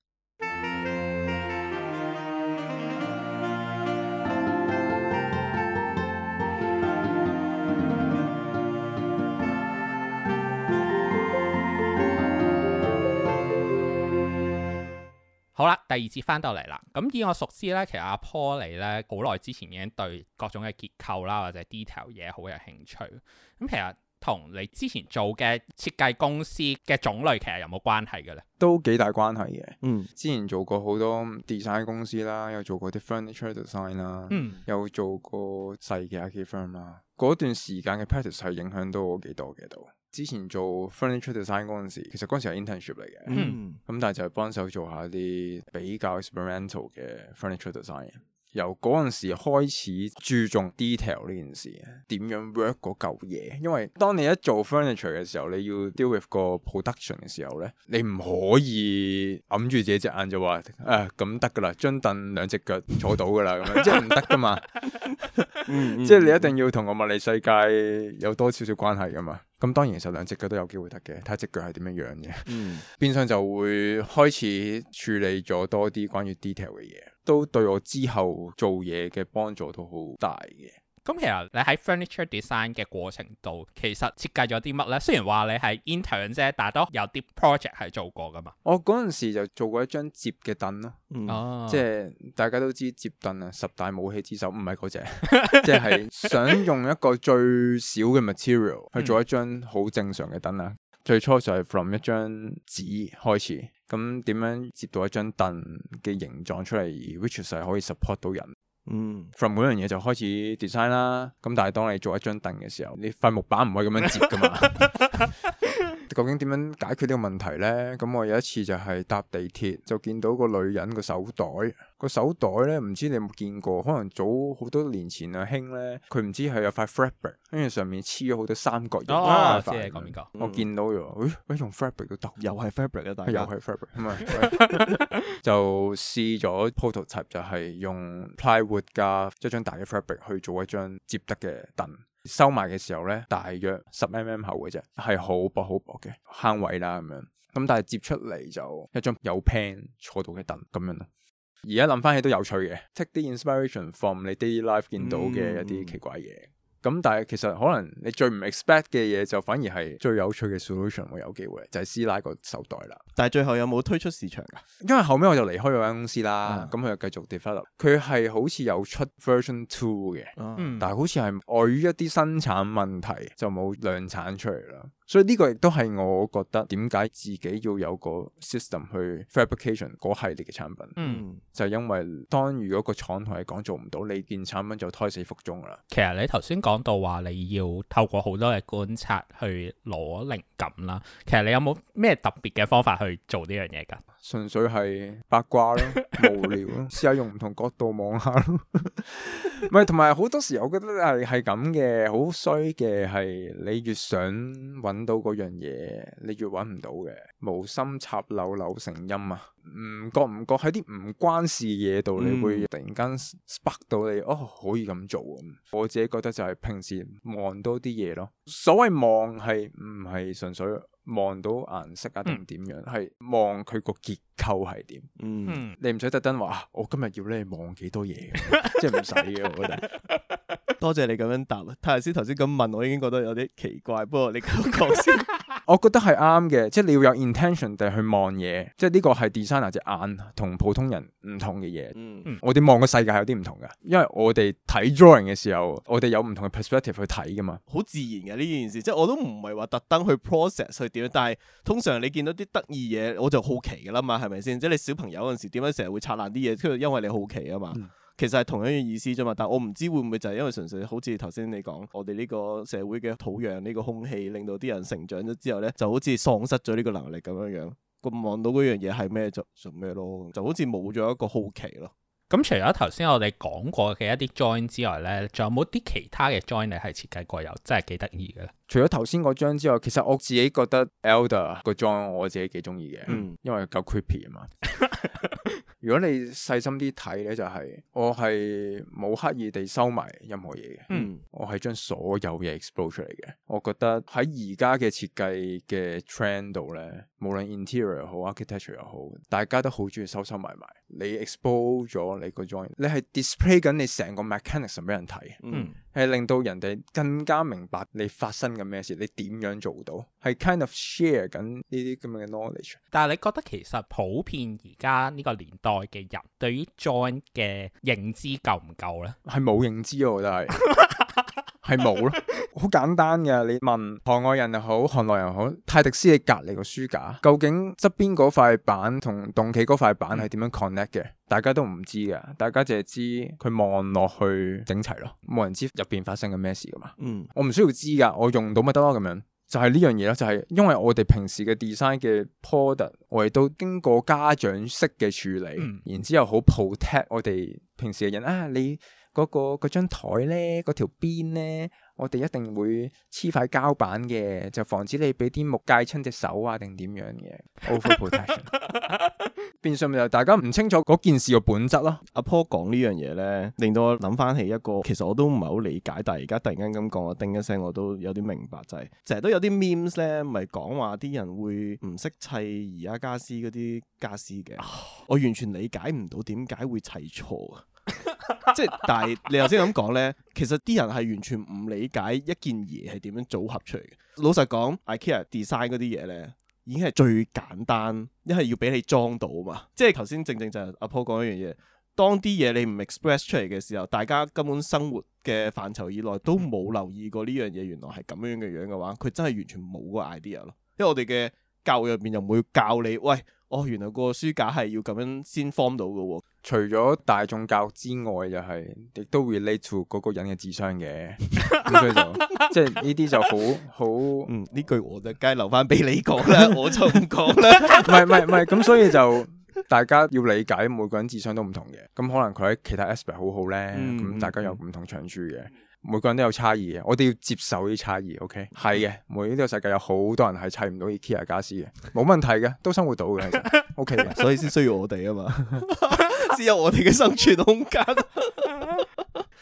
好啦，第二節翻到嚟啦。咁以我熟知咧，其實阿 Paul 嚟咧好耐之前已經對各種嘅結構啦或者 detail 嘢好有興趣。咁其實同你之前做嘅設計公司嘅種類其實有冇關係嘅咧？ 都幾大關係嘅。 嗯， 之前做過好多 design 公司啦，有做過啲 furniture design 啦，嗯，有做過細嘅 architect firm 啦。嗰段時間嘅 practice 係影響到我幾多嘅都。之前做 furniture design 嗰陣時，其實嗰陣時係 internship 嚟嘅，嗯，咁但係就係幫手做下啲比較 experimental 嘅 furniture design。由嗰陣時開始注重 detail 呢件事，點樣 work 嗰嚿嘢。因為當你一做 furniture 嘅時候，你要 deal with 個 production 嘅時候咧，你唔可以揞住自己隻眼就話誒咁得噶啦，張凳兩隻腳坐到噶啦，咁樣即係唔得噶嘛。嗯、即係你一定要同個物理世界有多少少關係噶嘛。咁當然其實兩隻腳都有機會得嘅，睇下隻腳係點樣樣嘅。嗯，變相就會開始處理咗多啲關於 detail 嘅嘢，都對我之後做嘢嘅幫助都好大嘅。 咁其實你喺 furniture design 嘅過程度，其實設計咗啲乜呢？雖然話你係 intern 啫，但係都有啲 project 係做過噶嘛。 我嗰陣時就做過一張摺嘅凳咯，嗯哦、 即係大家都知摺凳啊，十大武器之首，唔係嗰隻，即係想用一個最少嘅 material 去做一張好正常嘅凳啊。嗯、最初就係 from 一張紙開始，咁點樣摺到一張凳嘅形狀出嚟 ，which 係可以 support 到人。嗯 from 嗰樣嘢就開始 design 啦，咁但係當你做一張凳嘅時候，你塊木板唔可以咁樣摺噶嘛。究竟點樣解決呢個問題呢？咁我有一次就係搭地鐵，就見到個女人個手袋，個手袋呢，唔知你有冇見過？可能早好多年前啊興呢，佢唔知係有塊 fabric，跟住上面黐咗好多三角形。 哦，知你講邊個？ 我見到咗，誒，用 fabric 都得， 又係 fabric 啊，大家又係 fabric，咁啊，就試咗 prototype，就係用 plywood 加一張大嘅 fabric 去做一張摺得嘅凳。收埋嘅時候咧，大約十 mm 厚嘅啫，係好薄好薄嘅坑位啦咁樣。咁但係摺出嚟就一張有 pan 坐到嘅凳咁樣咯。而家諗翻起都有趣嘅 ，take 啲 inspiration from 你 daily life 見到嘅一啲奇怪嘢。 咁但係其實可能你最唔 expect 嘅嘢就反而係最有趣嘅 solution 會有機會，就係師奶個手袋啦。 但係最後有冇推出市場噶？ 因為後尾我就離開咗間公司啦，咁佢、嗯、就繼續 develop。佢係好似有出 version two 嘅，嗯、但係好似係礙於一啲生產問題就冇量產出嚟啦。所以呢個亦都係我覺得點解自己要有個 system 去 fabrication 嗰系列嘅產品，嗯、就係因為當如果個廠同你講做唔到，你件產品就胎死腹中啦。 其實你頭先講到話你要透過好多嘅觀察去攞靈感啦，其實你有冇咩特別嘅方法去做呢樣嘢㗎？ 純粹係八卦咯，無聊咯，試下用唔同角度望下咯。唔係，同埋好多時我覺得係係咁嘅，好衰嘅係你越想揾到嗰樣嘢，你越揾唔到嘅。無心插柳柳成蔭啊！唔覺唔覺喺啲唔關事嘢度，你會突然間 spark 到你，哦，可以咁做咁。我自己覺得就係平時望多啲嘢咯。所謂望係唔係純粹望到顏色啊定點樣，係望佢個結構係點。嗯，你唔使特登話，我今日要咧望幾多嘢，即係唔使嘅。我覺得多謝你咁樣答。泰師頭先咁問，我已經覺得有啲奇怪。不過你咁講先。 我覺得係啱嘅，即係你要有 intention 地去望嘢，即係呢個係 designer 隻眼同普通人唔同嘅嘢。嗯、我哋望個世界係有啲唔同嘅，因為我哋睇 drawing 嘅時候，我哋有唔同嘅 perspective 去睇噶嘛， 好自然嘅呢件事。即係我都唔係話特登去 process 去點樣，但係通常你見到啲得意嘢，我就好奇噶啦嘛，係咪先？即係你小朋友嗰陣時點解成日會拆爛啲嘢，因為你好奇啊嘛。嗯其實係同樣嘅意思啫嘛，但係我唔知會唔會就係因為純粹好似頭先你講，我哋呢個社會嘅土壤、呢、呢個空氣，令到啲人成長咗之後咧，就好似喪失咗呢個能力咁樣樣。咁望到嗰樣嘢係咩就做咩咯，就好似冇咗一個好奇咯。 咁除咗頭先我哋講過嘅一啲 join 之外咧，仲有冇啲其他嘅 join 你係設計過又真係幾得意嘅咧？ 除咗頭先嗰張之外，其實我自己覺得 Elder 個 join 我自己幾中意嘅，嗯、因為夠 creepy 啊嘛。如果你細心啲睇咧，就係、是、我係冇刻意地收埋任何嘢嘅，嗯、我係將所有嘢 explode 出嚟嘅。我覺得喺而家嘅設計嘅 trend 度咧，無論 interior 又好 architecture 又好，大家都好中意收收埋埋。你 expose 咗你個 joint，你係 display 緊你成個 mechanism 俾人睇，係、嗯、令到人哋更加明白你發生緊咩事，你點樣做到，係 kind of share 緊呢啲咁嘅 knowledge。 但係你覺得其實普遍而家呢個年代嘅人對於 joint 嘅認知夠唔夠呢？ 係冇認知，我覺得係係冇咯，好簡單嘅。你問行外人又好，行內人又好，泰迪斯你隔籬個書架，究竟側邊嗰塊板同棟企嗰塊板係點樣 connect 嘅？大家都唔知嘅，大家淨係知佢望落去整齊咯，冇人知入邊發生緊咩事噶嘛。嗯，我唔需要知噶，我用到咪得咯，咁樣就係呢樣嘢咯，就係、是、因為我哋平時嘅 design 嘅 product，我哋都經過家長式嘅處理，嗯、然之後好 protect 我哋平時嘅人啊，你嗰、嗰個嗰張台咧，嗰條邊咧。我哋一定會黐塊膠板嘅，就防止你俾啲木界親隻手啊，定點樣嘅 over protection。變相咪就大家唔清楚嗰件事嘅本質咯。 阿 Paul 講呢樣嘢咧，令到我諗翻起一個，其實我都唔係好理解，但係而家突然間咁講，我叮一聲，我都有啲明白，就係成日都有啲 memes 咧，咪講話啲人會唔識砌宜家家私嗰啲家私嘅，我完全理解唔到點解會砌錯啊！即係，但係你頭先咁講咧，其實啲人係完全唔理解一件嘢係點樣組合出嚟嘅。老實講 ，IKEA design 嗰啲嘢咧，已經係最簡單，一係要俾你裝到嘛。即係頭先正正就係阿 Paul 講一樣嘢，當啲嘢你唔 express 出嚟嘅時候，大家根本生活嘅範疇以內都冇留意過呢樣嘢，原來係咁樣嘅樣嘅話，佢真係完全冇個 idea 咯。因為我哋嘅教育入邊又唔會教你，喂，哦，原來個書架係要咁樣先 form 到嘅喎。 除咗大眾教育之外，就係、是、亦都 relate to 嗰個人嘅智商嘅，咁所以就即係呢啲就好好， 嗯，呢句我就梗係留翻俾你講啦，我就唔講啦。 唔係唔係唔係，咁所以就大家要理解每個人智商都唔同嘅，咁可能佢喺其他 aspect 好好咧，咁、嗯、大家有唔同長處嘅。每個人都有差異嘅，我哋要接受啲差異。OK，係嘅，每呢個世界有好多人係砌唔到 IKEA 家私嘅，冇問題嘅，都生活到嘅，其實 OK 嘅， 所以先需要我哋啊嘛，先有我哋嘅生存空間。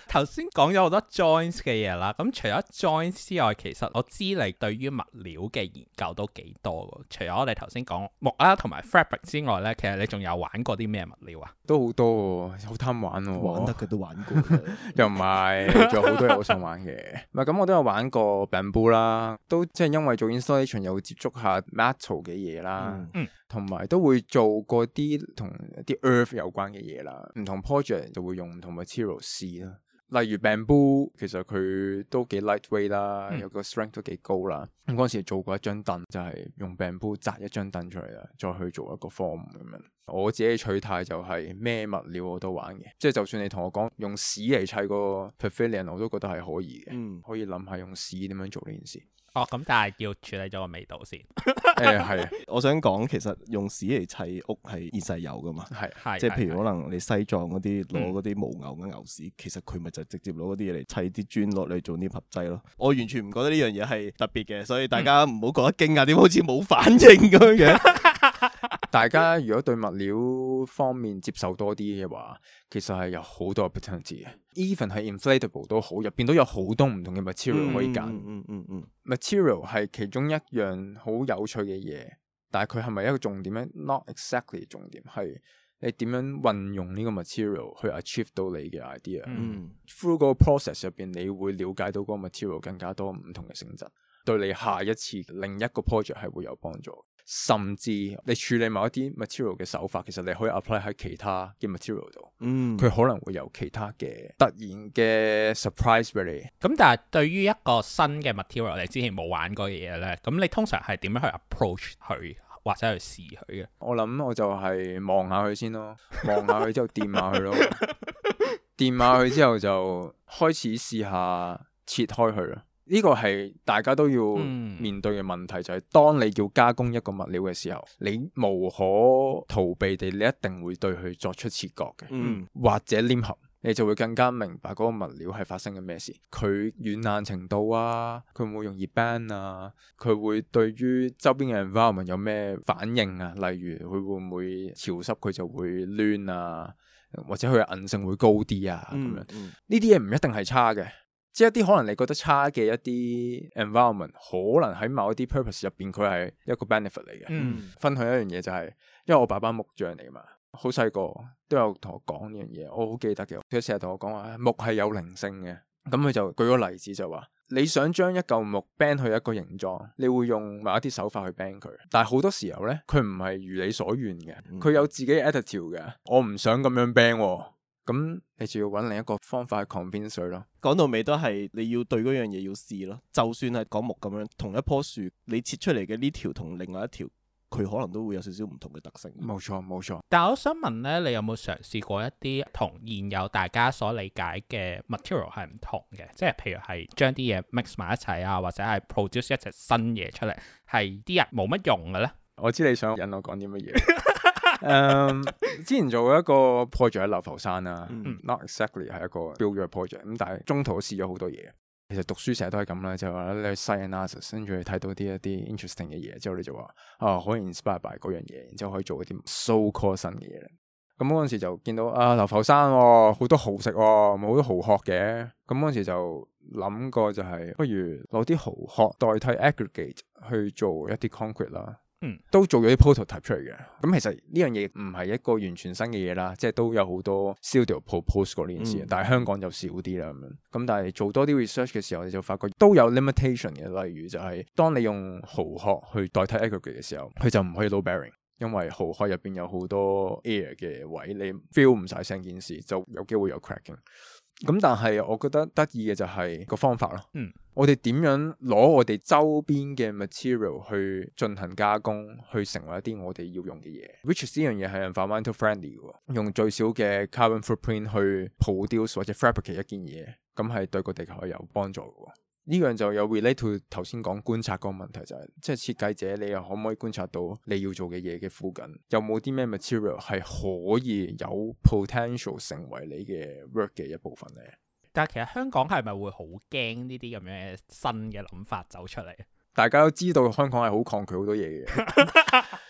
頭先講咗好多 joints 嘅嘢啦，咁除咗 joints 之外，其實我知你對於物料嘅研究都幾多㗎。除咗我哋頭先講木啦同埋 fabric 之外呢，其實你仲有玩過啲咩物料啊？ 都好多喎，好貪玩喎。 玩得嘅都玩過， 又唔係，仲有好多嘢好想玩嘅。唔係咁，我都有玩過 bamboo 啦，都即係因為做 installation 又會接觸下 metal 嘅嘢啦，同埋、嗯、都會做過啲同啲 earth 有關嘅嘢啦。唔同 project 就會用唔同 material 試啦。例如 bamboo，其實佢都幾 lightweight 啦，嗯、有個 strength 都幾高啦。咁嗰陣時做過一張凳，就係、是、用 bamboo 紮一張凳出嚟啦，再去做一個 form 咁樣。我自己嘅取態就係咩物料我都玩嘅，即係就算你同我講用屎嚟砌個 pavilion，我都覺得係可以嘅。嗯，可以諗下用屎點樣做呢件事。 哦，咁但係要處理咗個味道先。 誒係、欸， 我想講其實用屎嚟砌屋係現世有噶嘛，係係，即係譬如可能你西藏嗰啲攞嗰啲犛牛嘅牛屎，嗯、其實佢咪就直接攞嗰啲嘢嚟砌啲磚落嚟做黏合劑咯。我完全唔覺得呢樣嘢係特別嘅，所以大家唔好覺得驚訝，點好似冇反應咁樣嘅。 大家如果對物料方面接受多啲嘅話，其實係有好多 opportunity 嘅。Even 係 inflatable 都好，入邊都有好多唔同嘅 material 可以揀。嗯嗯嗯嗯、material 係其中一樣好有趣嘅嘢，但係佢係咪一個重點咧 ？Not exactly 重點，係你點樣運用呢個 material 去 achieve 到你嘅 idea。嗯、Through 個 process 入邊，你會了解到嗰個 material 更加多唔同嘅性質，對你下一次另一個 project 係會有幫助。甚至你處理某一啲 material 嘅手法，其實你可以 apply 喺其他嘅 material 度，嗯，佢可能會有其他嘅突然嘅 surprise 俾你。 咁但係對於一個新嘅 material，你之前冇玩過嘅嘢咧，咁你通常係點樣去 approach 佢或者去試佢嘅？ 我諗我就係望下佢先咯，望下佢之後掂下佢咯，掂下佢之後就開始試下切開佢咯。呢個係大家都要面對嘅問題，嗯、就係當你要加工一個物料嘅時候，你無可逃避地，你一定會對佢作出切割嘅，嗯、或者黏合，你就會更加明白嗰個物料係發生緊咩事，佢軟硬程度啊，佢會唔會容易 bend 啊，佢會對於周邊嘅 environment 有咩反應啊，例如佢會唔會潮濕佢就會攣啊，或者佢嘅韌性會高啲啊，咁、嗯、樣呢啲嘢唔一定係差嘅。即係一啲可能你覺得差嘅一啲 environment，可能喺某一啲 purpose 入邊佢係一個 benefit 嚟嘅。嗯、分享一樣嘢就係、是，因為我爸爸木匠嚟嘛，好細個都有同我講呢樣嘢，我好記得嘅。佢成日同我講話木係有靈性嘅，咁佢就舉個例子就話，你想將一嚿木 bend 去一個形狀，你會用某一啲手法去 bend 佢，但係好多時候咧，佢唔係如你所願嘅，佢有自己嘅 attitude 嘅，我唔想咁樣 bend 喎。咁你就要揾另一個方法去 convince 佢咯。 講到尾都係你要對嗰樣嘢要試咯。就算係講木咁樣，同一棵樹你切出嚟嘅呢條同另外一條，佢可能都會有少少唔同嘅特性。 冇錯冇錯。 但係我想問咧，你有冇嘗試過一啲同現有大家所理解嘅 material 係唔同嘅？即係譬如係將啲嘢 mix 埋一齊啊，或者係 produce 一隻新嘢出嚟，係啲人冇乜用嘅咧？ 我知你想引我講啲乜嘢。誒，um, 之前做一個 project 喺流浮山啦、啊嗯、，not exactly 係一個 build your project，咁但係中途都試咗好多嘢。其實讀書成日都係咁啦，就係話你去 site analysis，跟住你睇到啲一啲 interesting 嘅嘢之後，你就話啊可以 inspire by 嗰樣嘢，然之後可以做一啲 so called 新嘅嘢。咁嗰陣時就見到啊流浮山好、哦、多蠔食、哦，好多蠔殼嘅。咁嗰陣時就諗過就係、是、不如攞啲蠔殼代替 aggregate 去做一啲 concrete 啦。嗯，都做咗啲 prototype 出嚟嘅。咁其實呢樣嘢唔係一個完全新嘅嘢啦，即係都有好多 studio propose 過呢件事，嗯、但係香港就少啲啦咁樣。咁但係做多啲 research 嘅時候，你就發覺都有 limitation 嘅。例如就係當你用蠔殼去代替 aggregate 嘅時候，佢就唔可以 load bearing，因為蠔殼入邊有好多 air 嘅位，你 feel 唔晒成件事，就有機會有 cracking。咁但係我覺得得意嘅就係個方法咯。嗯，我哋點樣攞我哋周邊嘅 material 去進行加工，去成為一啲我哋要用嘅嘢。which 呢樣嘢係 environmental friendly 嘅，用最少嘅 carbon footprint 去 produce 或者 fabricate 一件嘢，咁係對個地球係有幫助嘅。呢樣就有 relate to 頭先講觀察個問題，就係即係設計者你又可唔可以觀察到你要做嘅嘢嘅附近有冇啲咩 material 係可以有 potential 成為你嘅 work 嘅一部分咧？ 但係其實香港係咪會好驚呢啲咁樣嘅新嘅諗法走出嚟？ 大家都知道香港係好抗拒好多嘢嘅。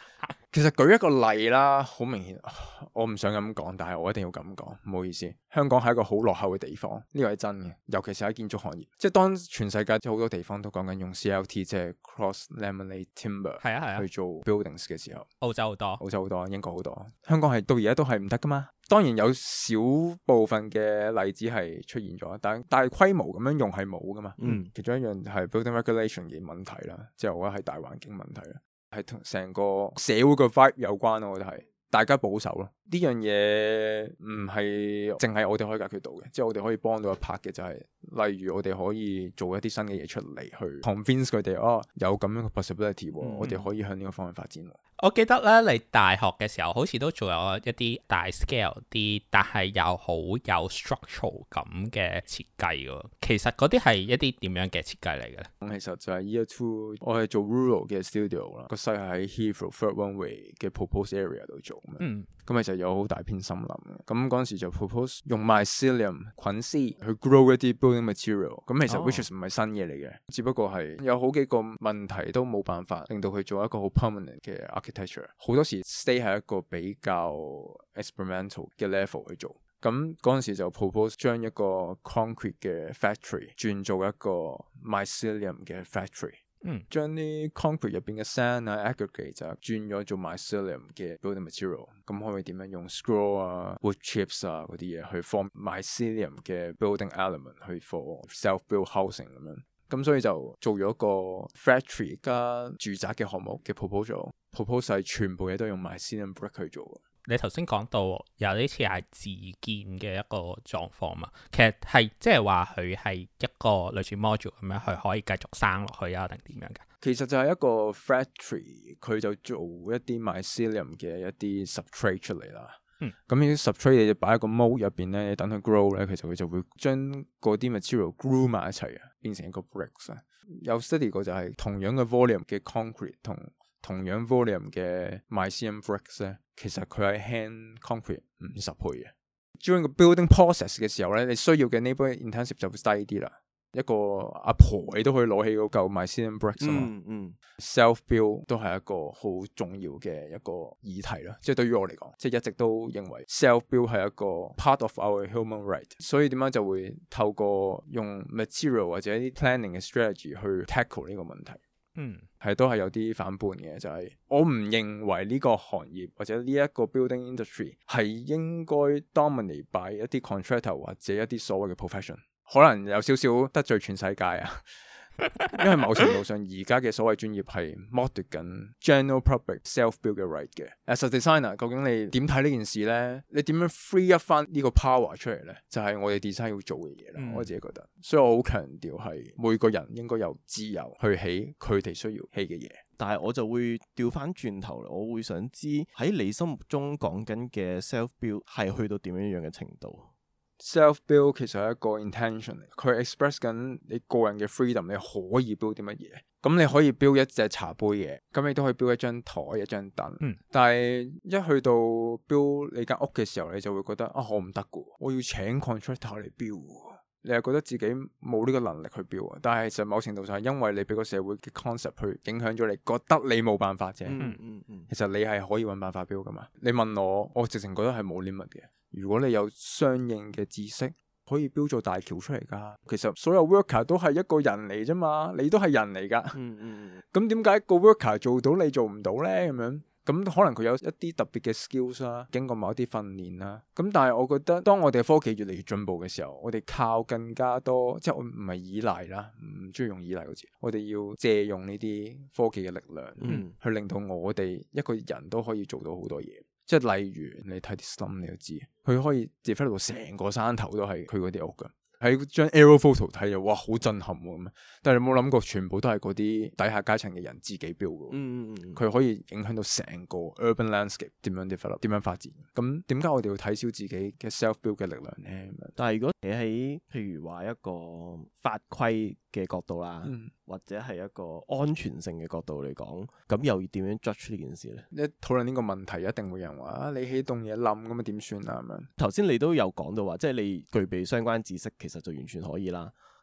其實舉一個例啦，好明顯，我唔想咁講，但係我一定要咁講，唔好意思。香港係一個好落後嘅地方，呢個係真嘅，尤其是喺建築行業。即係當全世界好多地方都講緊用 C L T，即係 Cross Laminated Timber， 係啊係啊， 去做 buildings 嘅時候， 澳洲好多， 澳洲好多，英國好多，香港係到而家都係唔得噶嘛。當然有少部分嘅例子係出現咗，但係大規模咁樣用係冇噶嘛。嗯，其中一樣係 building regulation 嘅問題啦，即係我覺得係大環境問題啦。係同成個社會嘅 vibe 有關咯，我覺得係大家保守咯。呢樣嘢唔係淨係我哋可以解決到嘅，即係我哋可以幫到一 part 嘅就係、是，例如我哋可以做一啲新嘅嘢出嚟，去 convince 佢哋哦，有咁樣嘅 possibility，、嗯、我哋可以向呢個方向發展。 我記得咧，你大學嘅時候好似都做咗一啲大 scale 啲，但係又好有 structural 感嘅設計喎。其實嗰啲係一啲點樣嘅設計嚟嘅咧？咁其實就係 year two，我係做 rural 嘅 studio 啦，個 site 係喺 Heathrow Third Runway 嘅 proposed area 度做。嗯，咁其實有好大片森林嘅。咁嗰陣時就 propose 用 mycelium 菌絲去 grow 一啲 building material。咁其實 which is 唔係新嘢嚟嘅，只不過係有好幾個問題都冇辦法令到佢做一個好 permanent 嘅 architecture。好多時 stay 喺一個比較 experimental 嘅 level 去做。咁嗰陣時就 propose 將一個 concrete 嘅 factory 轉做一個 mycelium 嘅 factory。嗯，將啲 concrete 入邊嘅 sand 啊 aggregate 就轉咗做 mycelium 嘅 building material。咁可以點樣用 scroll 啊 wood chips 啊嗰啲嘢去 form mycelium 嘅 building element 去 for self build housing 咁樣。咁所以就做咗個 factory 加住宅嘅項目嘅 proposal。proposal 係全部嘢都用 mycelium brick 去做。 你頭先講到有啲似係自建嘅一個狀況嘛，其實係即係話佢係一個類似 module 咁樣，佢可以繼續生落去啊，定點樣㗎？ 其實就係一個 factory，佢就做一啲 mycelium 嘅一啲 substrate 出嚟啦。嗯，咁呢啲 substrate 你就擺喺個 mold 入邊咧，等佢 grow 咧，其實佢就會將嗰啲 material glue 埋一齊啊，變成一個 bricks 啊。有 study 過就係同樣嘅 volume 嘅 concrete 同同樣 volume 嘅 mycelium bricks 咧，其實佢係輕 concrete 五十倍嘅。During 個 building process 嘅時候咧，你需要嘅 labour intensive 就會低啲啦。一個阿婆你都可以攞起嗰嚿 mycelium bricks 啊嘛。嗯嗯。self build 都係一個好重要嘅一個議題啦。即係對於我嚟講，即係一直都認為 self build 係一個 part of our human right。所以點解就會透過用 material 或者一啲 planning 嘅 strategy 去 tackle 呢個問題。嗯，係都係有啲反叛嘅，就係、是、我唔認為呢個行業或者呢一個 building industry 係應該 dominate by 一啲 contractor 或者一啲所謂嘅 profession， 可能有少少得罪全世界啊。因為某程度上而家嘅所謂專業係剝奪緊 general public self build 嘅 right 嘅。As a designer， 究竟你點睇呢件事呢？你點樣 free up 翻呢個 power 出嚟呢？就係、是、我哋 design 要做嘅嘢啦。嗯、我自己覺得，所以我好強調係每個人應該有自由去起佢哋需要起嘅嘢。 但係我就會調翻轉頭，我會想知喺你心目中講緊嘅 self build 係去到點樣樣嘅程度？ self build 其實係一個 intention 嚟，佢 express 緊你個人嘅 freedom， 你可以 build 啲乜嘢。咁你可以 build 一隻茶杯嘢，咁你都可以 build 一張台、一張凳。嗯、但係一去到 build 你間屋嘅時候，你就會覺得啊，我唔得㗎，我要請 contractor 嚟 build。你係覺得自己冇呢個能力去 build，但係其實某程度上係因為你俾個社會嘅 concept 去影響咗你，覺得你冇辦法啫。嗯嗯嗯、其實你係可以揾辦法 build 㗎嘛。你問我，我直情覺得係冇 limit 嘅。如果你有相應嘅知識，可以標做大橋出嚟噶。其實所有 worker 都係一個人嚟啫嘛，你都係人嚟噶。嗯嗯。咁點解個 worker 做到你做唔到呢？咁樣咁可能佢有一啲特別嘅 skills 啦，經過某一啲訓練啦。咁但係我覺得，當我哋科技越嚟越進步嘅時候，我哋靠更加多，即係我唔係依賴啦，唔中意用依賴個字。我哋要借用呢啲科技嘅力量，嗯、去令到我哋一個人都可以做到好多嘢。即係例如你睇啲 slum 你都知，佢可以 develop 到成個山頭都係佢嗰啲屋噶。喺張 aerial photo 睇就哇好震撼喎咁，但係你冇諗過全部都係嗰啲底下階層嘅人自己 build 嘅。嗯嗯嗯，佢可以影響到成個 urban landscape 點樣 develop 點樣發展。咁點解我哋要睇小自己嘅 self build 嘅力量咧？ 但係如果你喺譬如話一個法規嘅角度啦，嗯、或者係一個安全性嘅角度嚟講，咁又要點樣 judge 呢件事咧？ 一討論呢個問題，一定會有人話啊，你起棟嘢冧咁啊點算啊咁樣。 頭先你都有講到話，即係你具備相關知識，其實就完全可以啦。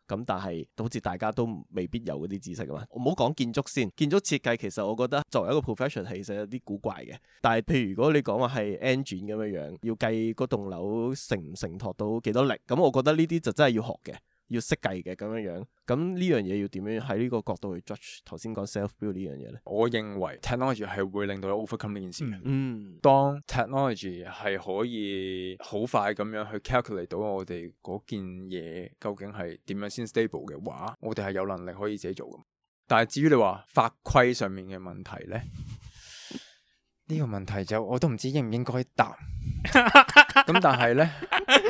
咁但係好似大家都未必有嗰啲知識啊嘛。我唔好講建築先，建築設計其實我覺得作為一個 profession 其實有啲古怪嘅。但係譬如如果你講話係 engine 咁樣樣，要計嗰棟樓承唔承托到幾多力，咁我覺得呢啲就真係要學嘅。要識計嘅咁樣樣，咁呢樣嘢要點樣喺呢個角度去 judge 頭先講 self-build 呢樣嘢咧？ 我認為 technology 係會令到你 overcome 呢件事嘅。 嗯， 當 technology 係可以好快咁樣去 calculate 到我哋嗰件嘢究竟係點樣先 stable 嘅話，我哋係有能力可以自己做嘅。但係至於你話法規上面嘅問題咧，呢個問題就我都唔知應唔應該答。咁但係咧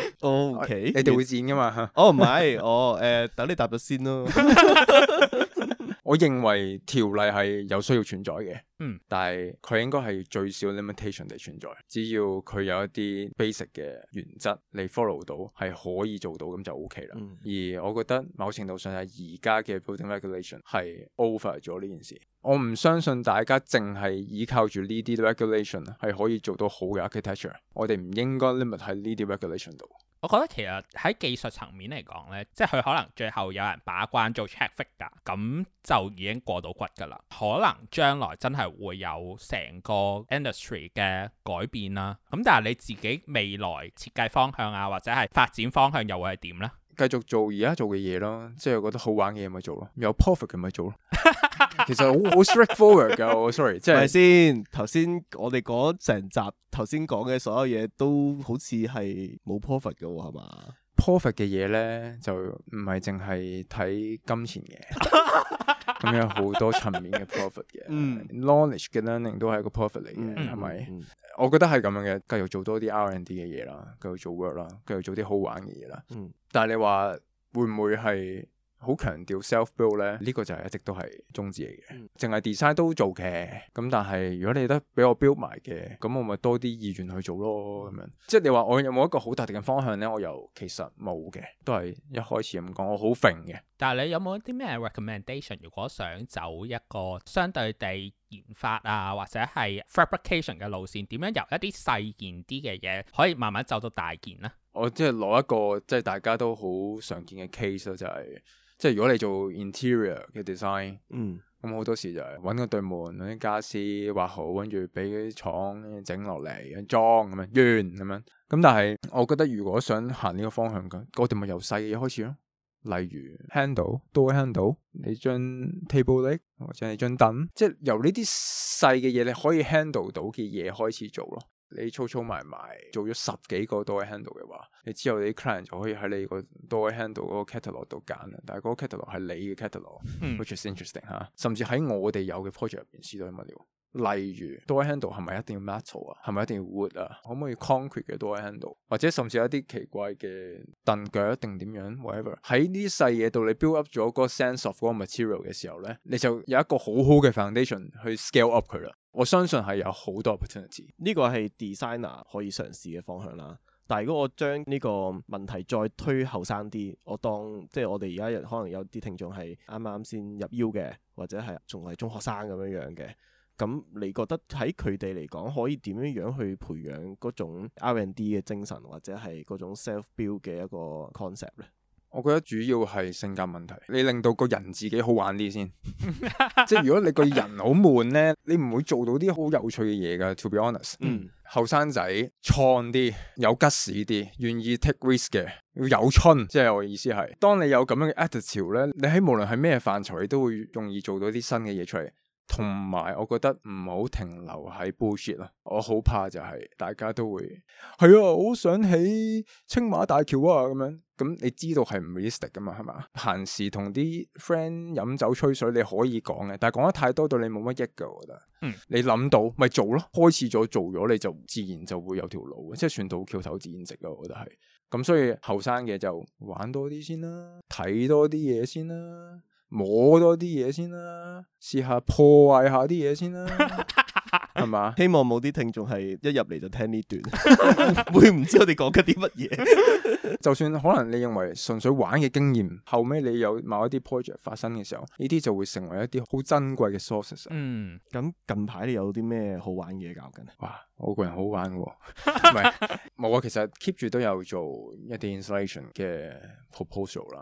，OK， 你哋會剪噶嘛？ 哦，唔係，我誒等你答咗先咯。 我認為條例係有需要存在嘅， 嗯，但係佢應該係最少 limitation 地存在。只要佢有一啲 basic 嘅原則，你 follow 到係可以做到，咁就 OK 啦。嗯、而我覺得某程度上係而家嘅 building regulation 係 over 咗呢件事。我唔相信大家淨係依靠住呢啲 regulation 係可以做到好嘅 architecture。我哋唔應該 limit 喺呢啲 regulation 度。 我覺得其實喺技術層面嚟講呢，即係佢可能最後有人把關做 check figure，咁就已經過到骨㗎啦。可能將來真係會有成個 industry 嘅改變啦。咁但係你自己未來設計方向啊，或者係發展方向又會係點呢？ 繼續做而家做嘅嘢咯，即係覺得好玩嘅嘢咪做咯，有 profit 嘅咪做咯。其實好好 straightforward 㗎，我 sorry，即係咪先？頭先我哋講成集頭先講嘅所有嘢都好似係冇 profit 嘅喎，係嘛 ？profit 嘅嘢咧就唔係淨係睇金錢嘅，咁有好多層面嘅 profit 嘅。嗯，knowledge 嘅 learning 都係一個 profit 嚟嘅，係咪？嗯嗯、我覺得係咁樣嘅，繼續做多啲 R and D 嘅嘢啦，繼續做 work 啦，繼續做啲好玩嘅嘢啦。嗯，但係你話會唔會係好強調 self build 咧？呢、呢個就係一直都係宗旨嚟嘅，淨係、嗯、design 都做嘅。咁但係如果你得俾我 build 埋嘅，咁我咪多啲意願去做咯。咁樣，即係你話我有冇一個好特定嘅方向咧？我又其實冇嘅，都係一開始咁講，我好揈嘅。 但係你有冇啲咩 recommendation？如果想走一個相對地研發啊，或者係 fabrication 嘅路線，點樣由一啲細件啲嘅嘢可以慢慢走到大件呢？ 我即係攞一個即係大家都好常見嘅 case 咯，就係、是、即係如果你做 interior 嘅 design，嗯，咁好多時就係揾個對門，揾啲家私畫好，跟住俾啲廠整落嚟裝咁樣，完咁樣。咁但係我覺得如果想行呢個方向嘅，我哋咪由細嘅嘢開始咯。例如 handle door handle，你張 table leg 或者你張凳，即係由呢啲細嘅嘢你可以 handle 到嘅嘢開始做咯。你粗粗埋埋做咗十幾個 door handle 嘅話，你之後你啲 client 就可以喺你個 door handle 嗰個 catalog 度揀啦。但係嗰個 catalog 係你嘅 catalog，which is interesting 吓。甚至喺我哋有嘅 project 入邊試到啲乜料。例如 door handle 係咪一定要 metal 啊？係咪一定要 wood 啊？可唔可以 concrete 嘅 door handle？或者甚至有一啲奇怪嘅凳腳定點樣 whatever？喺呢啲細嘢度你 build up 咗嗰個 sense of 嗰個 material 嘅時候咧，你就有一個好好嘅 foundation 去 scale up 佢啦。我相信係有好多 opportunity。 呢個係 designer 可以嘗試嘅方向啦。但係如果我將呢個問題再推後生啲，我當即係我哋而家可能有啲聽眾係啱啱先入 U 嘅，或者係仲係中學生咁樣樣嘅。咁你覺得喺佢哋嚟講，可以點樣樣去培養嗰種 R and D 嘅精神，或者係嗰種 self build 嘅一個 concept 咧？ 我覺得主要係性格問題，你令到個人自己好玩啲先。即係如果你個人好悶咧，你唔會做到啲好有趣嘅嘢噶。To be honest，嗯，後生仔創啲，有吉士啲，願意 take risk 嘅，要有春。即係我意思係，當你有咁樣嘅 attitude 咧，你喺無論係咩範疇，你都會容易做到啲新嘅嘢出嚟。同埋，我覺得唔好停留喺 bullshit 咯。我好怕就係大家都會係啊，我好想起青馬大橋啊咁樣。咁你知道係唔 realistic 噶嘛？係嘛？閒時同啲 friend 飲酒吹水你可以講嘅，但係講得太多對你冇乜益噶。我覺得，嗯，你諗到咪做咯，開始咗做咗你就自然就會有條路，即係船到橋頭自然直啊。我覺得係咁，所以後生嘅就玩多啲先啦，睇多啲嘢先啦。摸多啲嘢先啦，試下破壞下啲嘢先啦，係嘛？ 希望冇啲聽眾係一入嚟就聽呢段，會唔知我哋講緊啲乜嘢？ 就算可能你認為純粹玩嘅經驗，後尾你有某一啲 project 發生嘅時候，呢啲就會成為一啲好珍貴嘅 sources。嗯， 咁近排你有啲咩好玩嘅嘢搞緊？ 哇，我個人好玩喎，唔係冇啊，其實 keep 住都有做一啲 installation 嘅 proposal 啦。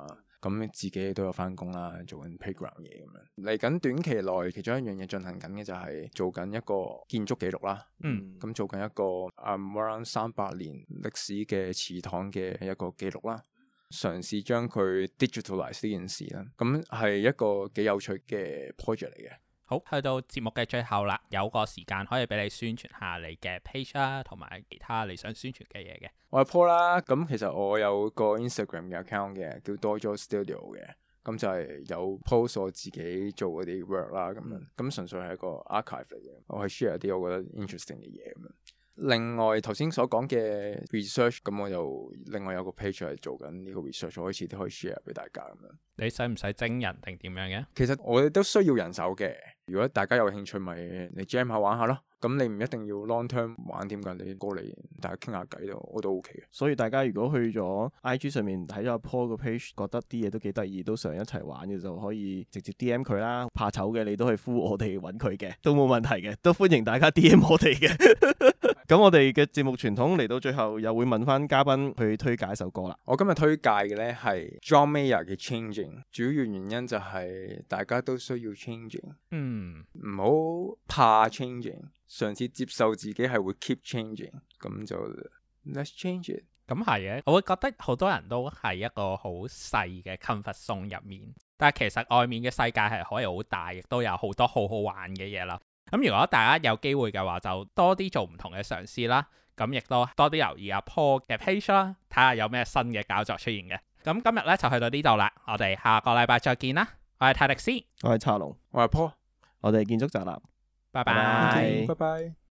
咁自己都有翻工啦，做緊 playground 嘢咁樣。嚟緊短期內，其中一樣嘢進行緊嘅就係做緊一個建築記錄啦。 嗯， 咁做緊一個啊 around 三百年歷史嘅祠堂嘅一個記錄啦，嘗試將佢 digitalize 呢件事啦。咁係一個幾有趣嘅 project 嚟嘅。 好，去到節目嘅最後啦，有個時間可以俾你宣傳下你嘅 page 啦，同埋其他你想宣傳嘅嘢嘅。 我係 Paul 啦，咁其實我有個 Instagram 嘅 account 嘅，叫 Dojo Studio 嘅，咁就係有 post 我自己做嗰啲 work 啦，咁樣，咁純粹係一個 archive 嚟嘅，我係 share 啲我覺得 interesting 嘅嘢咁樣。另外頭先所講嘅 research，咁我又另外有個 page 係做緊呢個 research，我開始都可以 share 俾大家咁樣。 你使唔使徵人定點樣嘅？ 其實我哋都需要人手嘅，如果大家有興趣，咪你 jam 下玩下咯。咁你唔一定要 long term 玩點㗎，你過嚟大家傾下偈咯，我都 OK 嘅。 所以大家如果去咗 I G 上面睇咗阿 Paul 個 page，覺得啲嘢都幾得意，都想一齊玩嘅，就可以直接 D M 佢啦。怕醜嘅你都可以呼我哋揾佢嘅，都冇問題嘅，都歡迎大家 D M 我哋嘅。咁我哋嘅節目傳統嚟到最後，又會問翻嘉賓去推介一首歌啦。 我今日推介嘅呢係 John Mayer 嘅 Changing， 主要原因就係大家都需要 changing， 嗯，唔好怕 changing， 嘗試接受自己係會 keep changing， 咁就 let's change it。 咁係嘅，我會覺得好多人都係一個好細嘅 comfort zone 入面，但係其實外面嘅世界係可以好大，亦都有好多好好玩嘅嘢啦。咁如果大家有機會嘅話，就多啲做唔同嘅嘗試啦。咁亦都多啲留意阿 Paul 嘅 page 啦，睇下有咩新嘅搞作出現嘅。咁今日咧就去到呢度啦，我哋下個禮拜再見啦。我係泰迪斯， 我係查龍， 我係 Paul， 我哋建築宅男， 拜拜， 拜拜。